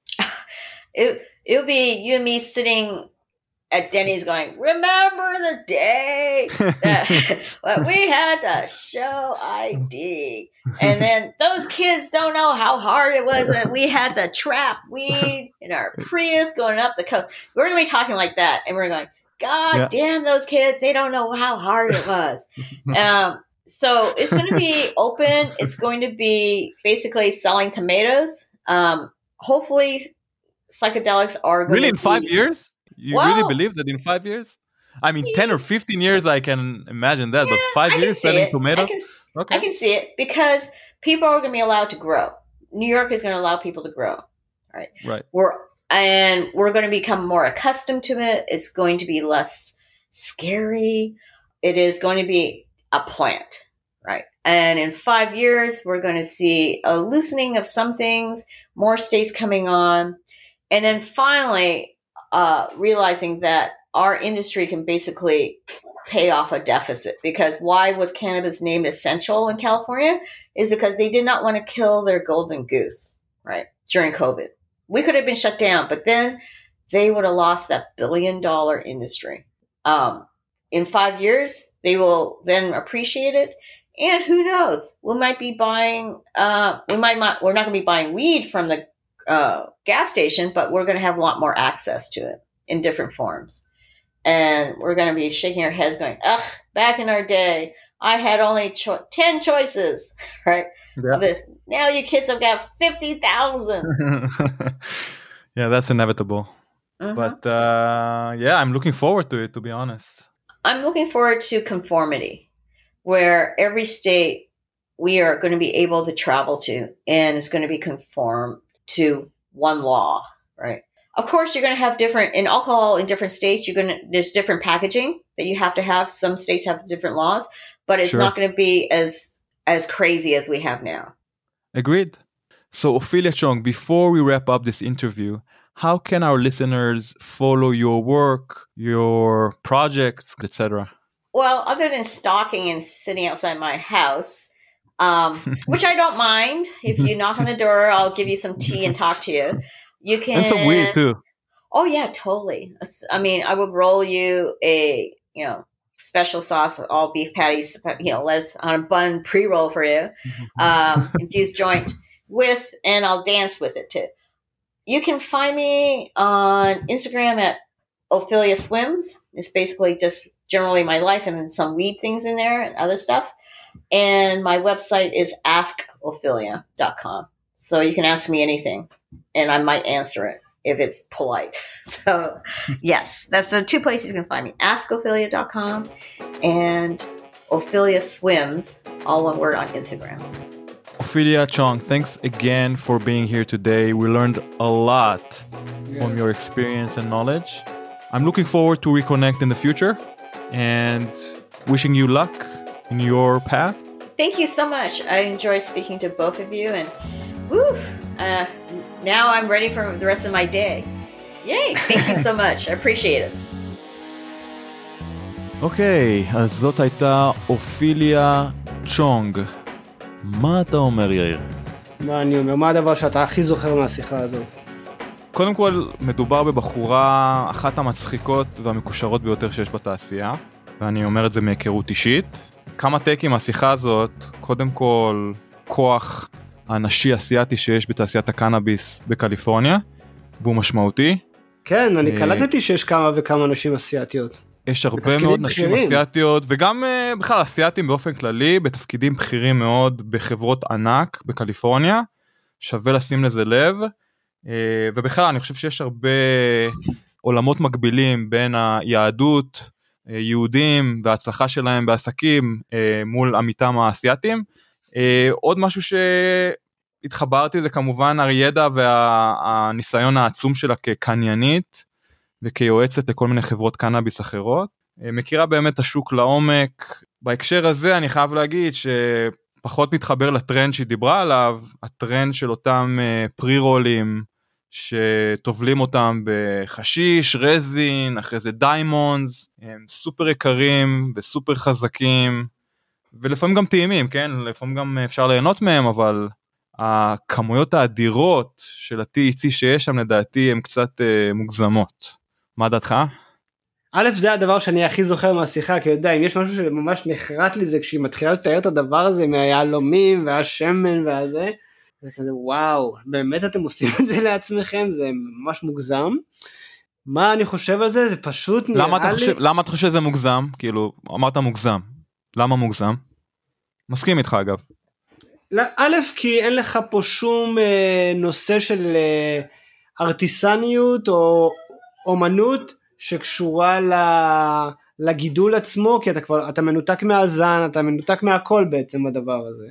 It'll be you and me sitting at Denny's going, remember the day that we had to show ID. And then those kids don't know how hard it was that we had to trap weed in our Prius going up the coast. We're going to be talking like that. And we're going, God damn those kids. They don't know how hard it was. So it's going to be open. It's going to be basically selling tomatoes. Hopefully psychedelics are going really to in 5 years? You really believe that in 5 years? I mean, 10 or 15 years, I can imagine that, but 5 years selling tomatoes? I can see it because people are going to be allowed to grow. New York is going to allow people to grow, right? Right. We're going to become more accustomed to it. It's going to be less scary. It is going to be a plant, right? And in 5 years, we're going to see a loosening of some things, more states coming on, and then finally realizing that our industry can basically pay off a deficit. Because why was cannabis named essential in California? Is because they did not want to kill their golden goose, right, during COVID. We could have been shut down, but then they would have lost that $1 billion industry. In 5 years, they will then appreciate it. And who knows? We might be buying, we're not going to be buying weed from the gas station, but we're going to have a lot more access to it in different forms. And we're going to be shaking our heads going, ugh, back in our day, I had only 10 choices, right? Yeah. Of this. Now you kids have got 50,000. Yeah, that's inevitable. Mm-hmm. But yeah, I'm looking forward to it, to be honest. I'm looking forward to conformity, where every state we are going to be able to travel to, and it's going to be conformed to one law, right? Of course, you're going to have different, in alcohol in different states, there's different packaging that you have to have. Some states have different laws, but it's not going to be as crazy as we have now. Agreed. So Ophelia Chong, before we wrap up this interview, how can our listeners follow your work, your projects, etc.? Well, other than stalking and sitting outside my house, which I don't mind. If you knock on the door, I'll give you some tea and talk to you. You can. And some weed too. Oh yeah, totally. I mean, I would roll you a, special sauce with all beef patties, lettuce on a bun pre-roll for you, infused joint and I'll dance with it too. You can find me on Instagram at Ophelia Swims. It's basically just generally my life and then some weed things in there and other stuff. And my website is askophelia.com. So you can ask me anything and I might answer it if it's polite. So yes, that's the two places you can find me, askophelia.com and Ophelia Swims, all one word on Instagram. Ophelia Chong, thanks again for being here today. We learned a lot from your experience and knowledge. I'm looking forward to reconnect in the future and wishing you luck in your path. Thank you so much. I enjoyed speaking to both of you and now I'm ready for the rest of my day. Yay! Thank you so much. I appreciate it. אוקיי, אז זאת הייתה אופיליה צ'ונג. מה אתה אומר, יאיר? מה אני אומר? מה הדבר שאתה הכי זוכר מהשיחה הזאת? קודם כל, מדובר בבחורה אחת המצחיקות והמקושרות ביותר שיש בתעשייה, ואני אומר את זה מהיכרות אישית. כמה טייקים מהשיחה הזאת, קודם כל, כוח הנשי אסיאתי שיש בתעשיית הקנאביס בקליפורניה, והוא משמעותי. כן, אני קלטתי שיש כמה וכמה נשים אסיאתיות. יש הרבה מאוד נשים אסיאתיות, וגם בכלל אסיאתים באופן כללי, בתפקידים בכירים מאוד בחברות ענק בקליפורניה, שווה לשים לזה לב, ובכלל אני חושב שיש הרבה עולמות מקבילים בין היהדות, יהודים וההצלחה שלהם בעסקים מול עמיתם האסיאתים. עוד משהו שהתחברתי זה כמובן הידע והניסיון העצום שלה כקניינית וכיועצת לכל מיני חברות קנאביס אחרות. מכירה באמת השוק לעומק. בהקשר הזה אני חייב להגיד שפחות מתחבר לטרנד שהיא דיברה עליו, הטרנד של אותם פרי-רולים שטובלים אותם בחשיש, רזין, אחרי זה דיימונדס, הם סופר יקרים וסופר חזקים, ולפעמים גם טעימים, כן? לפעמים גם אפשר ליהנות מהם, אבל הכמויות האדירות של ה-THC שיש שם לדעתי הן קצת מוגזמות. מה דעתך? א', זה הדבר שאני הכי זוכר מהשיחה, כי יודע, אם יש משהו שממש נחרט לי זה כשהיא מתחילה לתאר את הדבר הזה מהיהלומים והשמן והזה, זה כזה וואו, באמת אתם עושים את זה לעצמכם, זה ממש מוגזם. מה אני חושב על זה? זה פשוט נראה לי... למה אתה חושב שזה מוגזם? כאילו, אמרת מוגזם. למה מוגזם? מסכים איתך אגב. א', כי אין לך פה שום נושא של ארטיסניות או אומנות שקשורה לגידול עצמו, כי אתה מנותק מהזן, אתה מנותק מהכל בעצם בדבר הזה.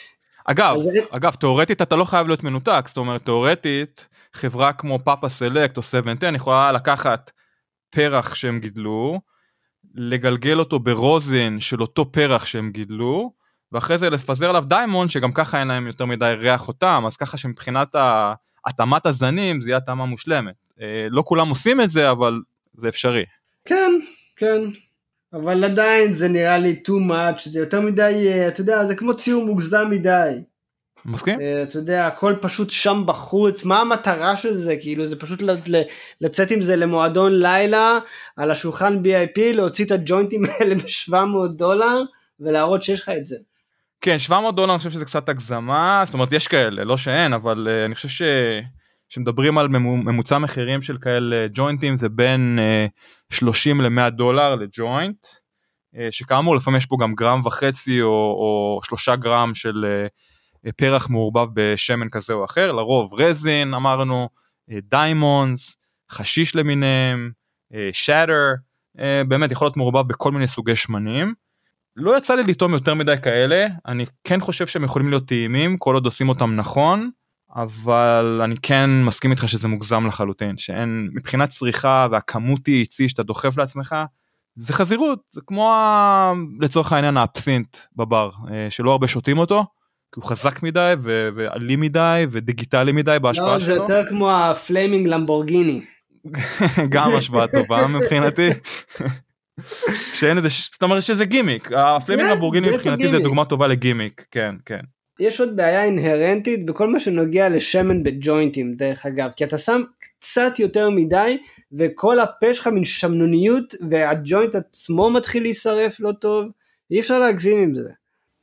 אגב, תיאורטית אתה לא חייב להיות מנותק, זאת אומרת, תיאורטית, חברה כמו פאפה סלקט או 710 יכולה לקחת פרח שהם גידלו, לגלגל אותו ברוזין של אותו פרח שהם גידלו, ואחרי זה לפזר עליו דיימונד, שגם ככה אין להם יותר מדי ריח אותם, אז ככה שמבחינת התאמת הזנים, זה יהיה התאמה מושלמת. לא כולם עושים את זה, אבל זה אפשרי. כן, כן. אבל עדיין זה נראה לי too much, זה יותר מדי, אתה יודע, זה כמו ציור מוגזם מדי. מסכים? אתה יודע, הכל פשוט שם בחוץ, מה המטרה של זה? כאילו זה פשוט לצאת עם זה למועדון לילה, על השולחן BIP, להוציא את הג'וינטים האלה $700, ולהראות שיש לך את זה. כן, $700 אני חושב שזה קצת הגזמה, זאת אומרת יש כאלה, לא שאין, אבל אני חושב שמדברים על ממוצע מחירים של כאלה ג'וינטים, זה בין $30 ל-$100 לג'וינט, שכאמור לפעמים יש פה גם 1.5 גרם או 3 גרם של פרח מעורבב בשמן כזה או אחר, לרוב רזין אמרנו, דיימונדס, חשיש למיניהם, שטר, באמת יכול להיות מעורבב בכל מיני סוגי שמנים, לא יצא לי לטעום יותר מדי כאלה, אני כן חושב שהם יכולים להיות טעימים, כל עוד עושים אותם נכון, אבל אני כן מסכים איתך שזה מוגזם לחלוטין, שאין מבחינת צריכה והכמות THC שאתה דוחף לעצמך, זה חזירות, זה כמו לצורך העניין האפסינט בבר, שלא הרבה שותים אותו, כי הוא חזק מדי ועלי מדי ודיגיטלי מדי בהשפעה שלו. לא, זה יותר כמו הפליימינג למבורגיני. גם השוואה טובה מבחינתי. שאין את זה, זאת אומרת שזה גימיק, הפליימינג למבורגיני מבחינתי זה דוגמה טובה לגימיק, כן, כן. יש עוד בעיה אינהרנטית בכל מה שנוגע לשמן בג'וינטים דרך אגב, כי אתה שם קצת יותר מדי, וכל הפה שלך מן שמנוניות, והג'וינט עצמו מתחיל להישרף לא טוב, אי אפשר להגזים עם זה.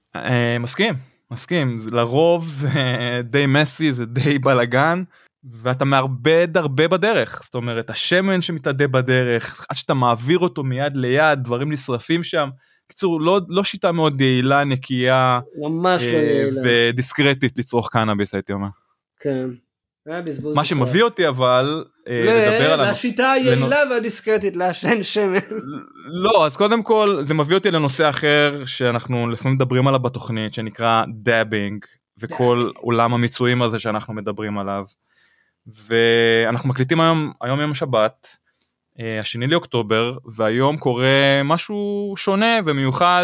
מסכים, לרוב זה די מסי, זה די בלגן, ואתה מערבד הרבה בדרך, זאת אומרת, השמן שמתעדה בדרך, עד שאתה מעביר אותו מיד ליד, דברים נשרפים שם, בקיצור, לא שיטה מאוד יעילה, נקייה, ממש לא יעילה. ודיסקרטית לצרוך קנאביס, הייתי אומר. כן. מה שמביא אותי אבל, לדבר על השיטה היעילה והדיסקרטית, לעשן שמן. לא, אז קודם כל, זה מביא אותי לנושא אחר, שאנחנו לפעמים מדברים עליו בתוכנית, שנקרא דאבינג, וכל עולם המיצויים הזה שאנחנו מדברים עליו. ואנחנו מקליטים היום יום שבת, 2 לאוקטובר, והיום קורה משהו שונה ומיוחד,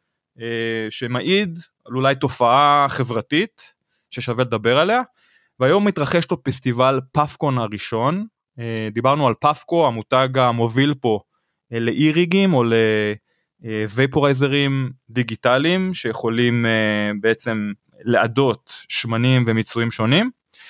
שמעיד על אולי תופעה חברתית, ששווה לדבר עליה, והיום מתרחש לו פסטיבל פאפקון הראשון, דיברנו על פאפקו, המותג המוביל פה, לאי-ריגים או לוויפורייזרים דיגיטליים, שיכולים בעצם לעדות שמנים ומיצויים שונים,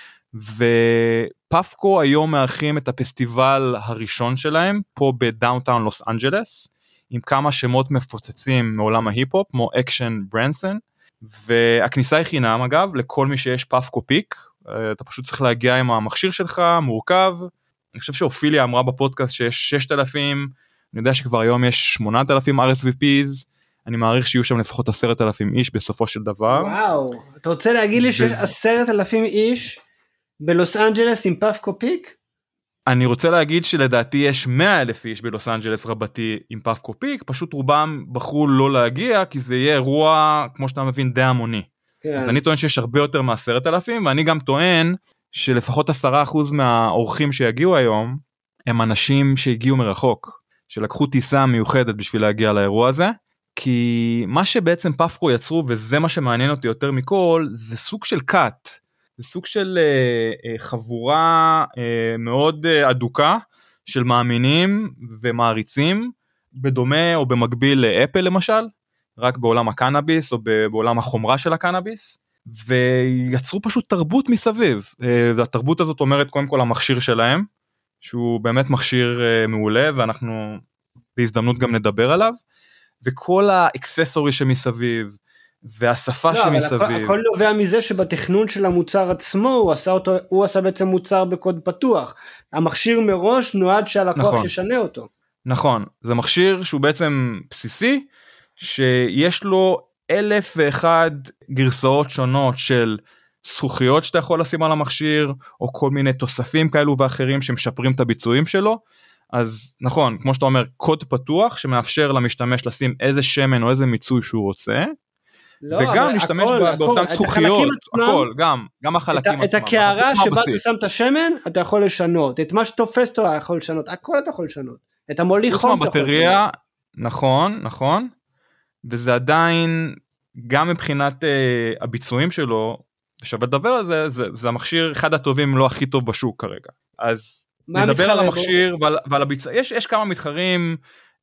ופאפקו היום מארחים את הפסטיבל הראשון שלהם, פה בדאונטאון לוס אנג'לס, עם כמה שמות מפוצצים מעולם ההיפ-הופ, כמו אקשן ברנסון, והכניסה היא חינם אגב, לכל מי שיש פאפקו פיק, אתה פשוט צריך להגיע עם המכשיר שלך, מורכב, אני חושב שאופיליה אמרה בפודקאסט שיש 6,000, אני יודע שכבר היום יש 8,000 RSVPs, אני מעריך שיהיו שם לפחות 10,000 איש בסופו של דבר. וואו, אתה רוצה להגיד לי שיש 10,000 איש בלוס אנג'לס עם פאפקו פיק? אני רוצה להגיד שלדעתי יש 100,000 איש בלוס אנג'לס רבתי עם פאפקו פיק, פשוט רובם בחרו לא להגיע, כי זה יהיה אירוע, כמו שאתה מבין, די המוני. כן. אז אני טוען שיש הרבה יותר מ10,000, ואני גם טוען שלפחות 10% מהאורחים שיגיעו היום, הם אנשים שהגיעו מרחוק, שלקחו טיסה מיוחדת בשביל להגיע לאירוע הזה, כי מה שבעצם פאפקו יצרו, וזה מה שמעניין אותי יותר מכל, זה סוג של קאט, זה סוג של חבורה מאוד אדוקה, של מאמינים ומעריצים, בדומה או במקביל לאפל למשל, רק בעולם הקנאביס או בעולם החומרה של הקנאביס, ויצרו פשוט תרבות מסביב, והתרבות הזאת אומרת קודם כל המכשיר שלהם, שהוא באמת מכשיר מעולה, ואנחנו בהזדמנות גם נדבר עליו, וכל האקססורי שמסביב, והשפה שמסביב. אבל הכל נובע מזה שבתכנון של המוצר עצמו, הוא עשה בעצם מוצר בקוד פתוח, המכשיר מראש נועד שהלקוח נכון. ישנה אותו. נכון, זה מכשיר שהוא בעצם בסיסי, שיש לו 1,001 גרסאות שונות של זכוכיות שאתה יכול לשים על המכשיר, או כל מיני תוספים כאלו ואחרים שמשפרים את הביצועים שלו, אז נכון, כמו שאתה אומר, קוד פתוח שמאפשר למשתמש לשים איזה שמן או איזה מיצוי שהוא רוצה, לא, וגם להשתמש באותן זכוכיות, הכל, גם החלקים את הקערה שבה אתה שם את השמן, אתה יכול לשנות, את מה שתופס אותו אתה יכול לשנות, הכל אתה יכול לשנות, את המוליך חום אתה יכול לשנות. נכון, וזה עדיין, גם מבחינת הביצועים שלו, ושווה לדבר על זה, זה המכשיר אחד הטובים, לא הכי טוב בשוק כרגע. אז נדבר על המכשיר ועל הביצוע, יש כמה מתחרים,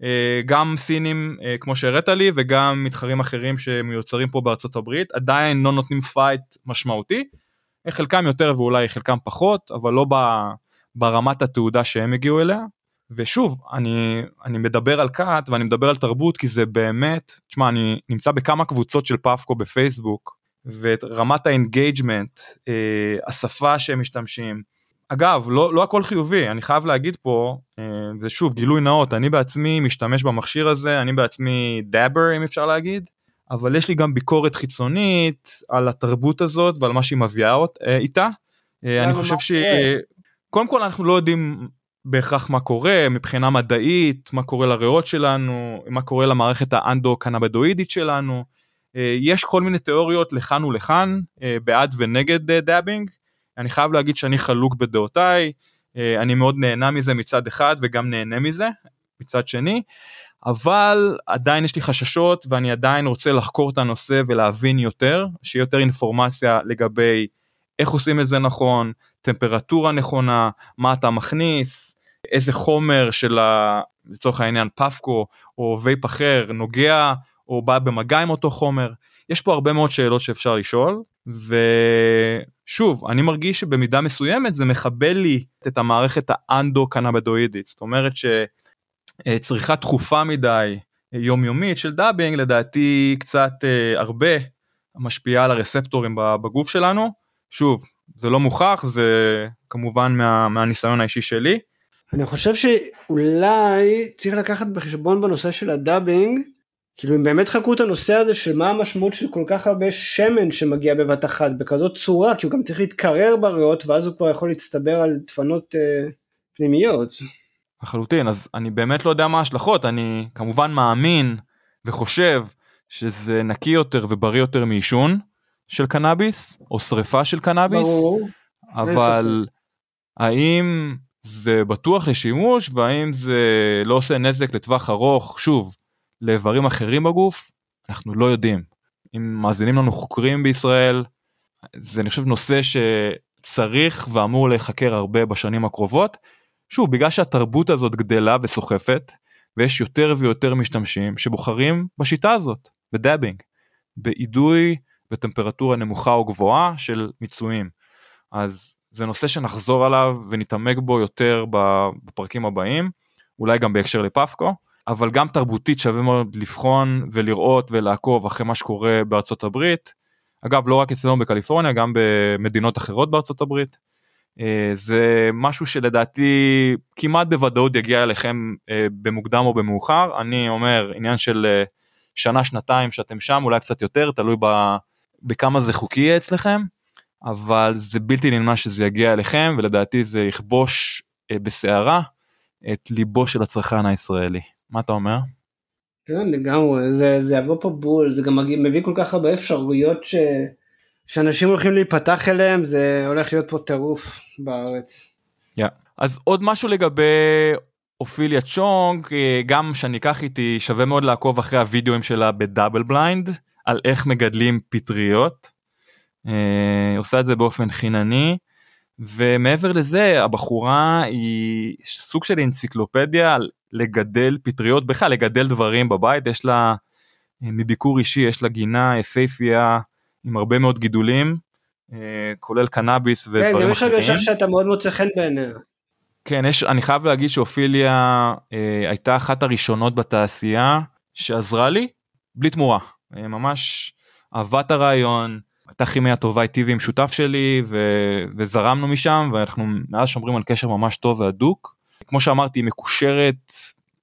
גם סינים כמו שהראית לי, וגם מתחרים אחרים שמיוצרים פה בארצות הברית, עדיין לא נותנים פייט משמעותי, חלקם יותר ואולי חלקם פחות, אבל לא ברמת התעודה שהם הגיעו אליה, ושוב, אני מדבר על קאט, ואני מדבר על תרבות, כי זה באמת, תשמע, אני נמצא בכמה קבוצות של פאפקו בפייסבוק, ורמת האנגייג'מנט, השפה שהם משתמשים, אגב, לא הכל חיובי, אני חייב להגיד פה, ושוב, גילוי נאות, אני בעצמי משתמש במכשיר הזה, אני בעצמי דאבר, אם אפשר להגיד, אבל יש לי גם ביקורת חיצונית על התרבות הזאת, ועל מה שהיא מביאה איתה. אני חושב קודם כל אנחנו לא יודעים בהכרח מה קורה, מבחינה מדעית, מה קורה לריאות שלנו, מה קורה למערכת האנדו-קנבדואידית שלנו, יש כל מיני תיאוריות לכאן ולכאן, בעד ונגד דאבינג, אני חייב להגיד שאני חלוק בדעותיי, אני מאוד נהנה מזה מצד אחד, וגם נהנה מזה מצד שני, אבל עדיין יש לי חששות, ואני עדיין רוצה לחקור את הנושא ולהבין יותר, שיהיה יותר אינפורמציה לגבי איך עושים את זה נכון, טמפרטורה נכונה, מה אתה מכניס, איזה חומר של לצורך העניין פאפקו או וייפ אחר נוגע או בא במגע עם אותו חומר. יש פה הרבה מאוד שאלות שאפשר לשאול, ושוב, אני מרגיש שבמידה מסוימת זה מחבל לי את המערכת האנדו-קנבדואידית, זאת אומרת שצריכה תכופה מדי יומיומית של דאבינג, לדעתי קצת הרבה משפיעה על הרספטורים בגוף שלנו, שוב, זה לא מוכח, זה כמובן מהניסיון האישי שלי. אני חושב שאולי צריך לקחת בחשבון בנושא של הדאבינג, כאילו אם באמת חקרו את הנושא הזה של מה המשמעות של כל כך הרבה שמן שמגיע בבת אחת בכזאת צורה, כי הוא גם צריך להתקרר בריאות, ואז הוא כבר יכול להצטבר על דפנות פנימיות. לחלוטין, אז אני באמת לא יודע מה ההשלכות, אני כמובן מאמין וחושב שזה נקי יותר ובריא יותר מעישון של קנאביס, או שריפה של קנאביס, ברור. אבל האם זה בטוח לשימוש, והאם זה לא עושה נזק לטווח ארוך, שוב, לאיברים אחרים בגוף, אנחנו לא יודעים. אם מאזינים לנו חוקרים בישראל, זה אני חושב נושא שצריך ואמור להיחקר הרבה בשנים הקרובות, שוב, בגלל שהתרבות הזאת גדלה וסוחפת, ויש יותר ויותר משתמשים שבוחרים בשיטה הזאת, בדאבינג, באידוי בטמפרטורה נמוכה או גבוהה של מיצויים. אז זה נושא שנחזור עליו ונתעמק בו יותר בפרקים הבאים, אולי גם בהקשר לפאפקו, אבל גם תרבותית שווה מאוד לבחון ולראות ולעקוב אחרי מה שקורה בארצות הברית, אגב לא רק אצלנו בקליפורניה, גם במדינות אחרות בארצות הברית, זה משהו שלדעתי כמעט בוודאות יגיע אליכם במוקדם או במאוחר, אני אומר עניין של שנה, שנתיים שאתם שם, אולי קצת יותר, תלוי בכמה זה חוקי יהיה אצלכם, אבל זה בלתי נמנע שזה יגיע אליכם, ולדעתי זה יכבוש בסערה את ליבו של הצרכן הישראלי. מה אתה אומר? כן, לגמרי, זה יבוא פה בול, זה גם מביא כל כך הרבה אפשרויות שאנשים הולכים להיפתח אליהם, זה הולך להיות פה טירוף בארץ. אז עוד משהו לגבי אופיליה צ'ונג, גם שאני אקח איתי, שווה מאוד לעקוב אחרי הוידאוים שלה בדאבל בליינד, על איך מגדלים פטריות, עושה את זה באופן חינני, ומעבר לזה, הבחורה היא סוג של אנציקלופדיה על לגדל פטריות, בכלל לגדל דברים בבית, יש לה, מביקור אישי, יש לה גינה יפהפייה, עם הרבה מאוד גידולים, כולל קנאביס ודברים אחרים. כן, גם יש הרגשה שאתה מאוד מוצא חן בעיניה. כן, אני חייב להגיד שאופיליה הייתה אחת הראשונות בתעשייה, שעזרה לי, בלי תמורה, ממש אהבת הרעיון, הייתה כימיה טובה איתי ועם שותף שלי, וזרמנו משם, ואנחנו מאז שומרים על קשר ממש טוב והדוק, כמו שאמרתי, היא מקושרת,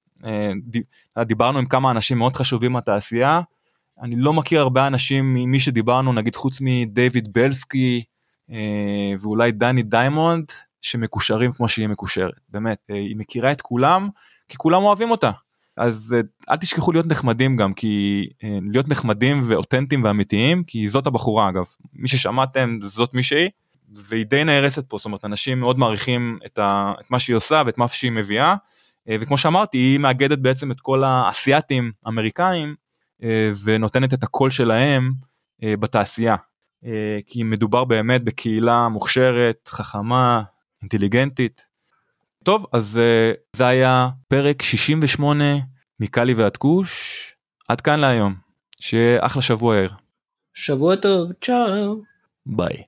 דיברנו עם כמה אנשים מאוד חשובים מהתעשייה, אני לא מכיר הרבה אנשים ממי שדיברנו, נגיד חוץ מדייוויד בלסקי, ואולי דני דיימונד, שמקושרים כמו שהיא מקושרת, באמת, היא מכירה את כולם, כי כולם אוהבים אותה, אז אל תשכחו להיות נחמדים גם, כי להיות נחמדים ואותנטיים ואמיתיים, כי זאת הבחורה אגב, מי ששמעתם זאת מישהי, והיא די נערצת פה, זאת אומרת, אנשים מאוד מעריכים את מה שהיא עושה, ואת מה שהיא מביאה, וכמו שאמרתי, היא מאגדת בעצם את כל האסייתים, אמריקאים, ונותנת את הקול שלהם בתעשייה, כי מדובר באמת בקהילה מוכשרת, חכמה, אינטליגנטית. טוב, אז זה היה פרק 68 מקלי ועד כוש, עד כאן להיום. שיהיה אחלה שבוע יאיר. שבוע טוב, צ'או. ביי.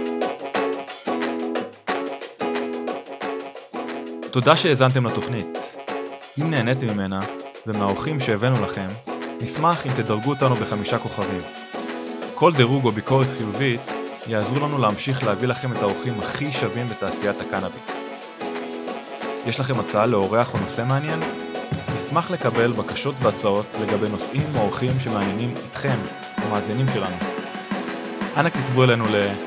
תודה שהאזנתם לתוכנית. אם נהניתם ממנה ומהאורחים שהבאנו לכם, נשמח אם תדרגו אותנו ב5 כוכבים. כל דירוג או ביקורת חיובית יעזרו לנו להמשיך להביא לכם את האורחים הכי שווים בתעשיית הקנאביס. יש לכם הצעה לאורח או נושא מעניין? נשמח לקבל בקשות והצעות לגבי נושאים או אורחים שמעניינים אתכם, המאזינים שלנו. אנא כתבו אלינו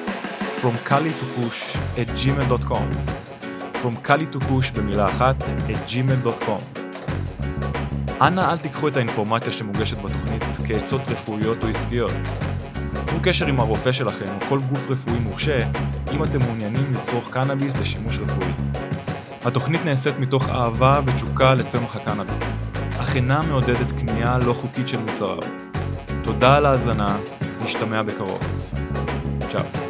fromkali2kush@gmail.com fromkali2kush במילה אחת @gmail.com. אנא אל תיקחו את האינפורמציה שמוגשת בתוכנית כעצות רפואיות או עסקיות. צרו קשר עם הרופא שלכם או כל גוף רפואי מורשה אם אתם מעוניינים לצרוך קנאביס לשימוש רפואי. התוכנית נעשית מתוך אהבה ותשוקה לצמח הקנאביס, אך אינה מעודדת קנייה לא חוקית של מוצריו. תודה על ההאזנה, נשתמע בקרוב. צ'או.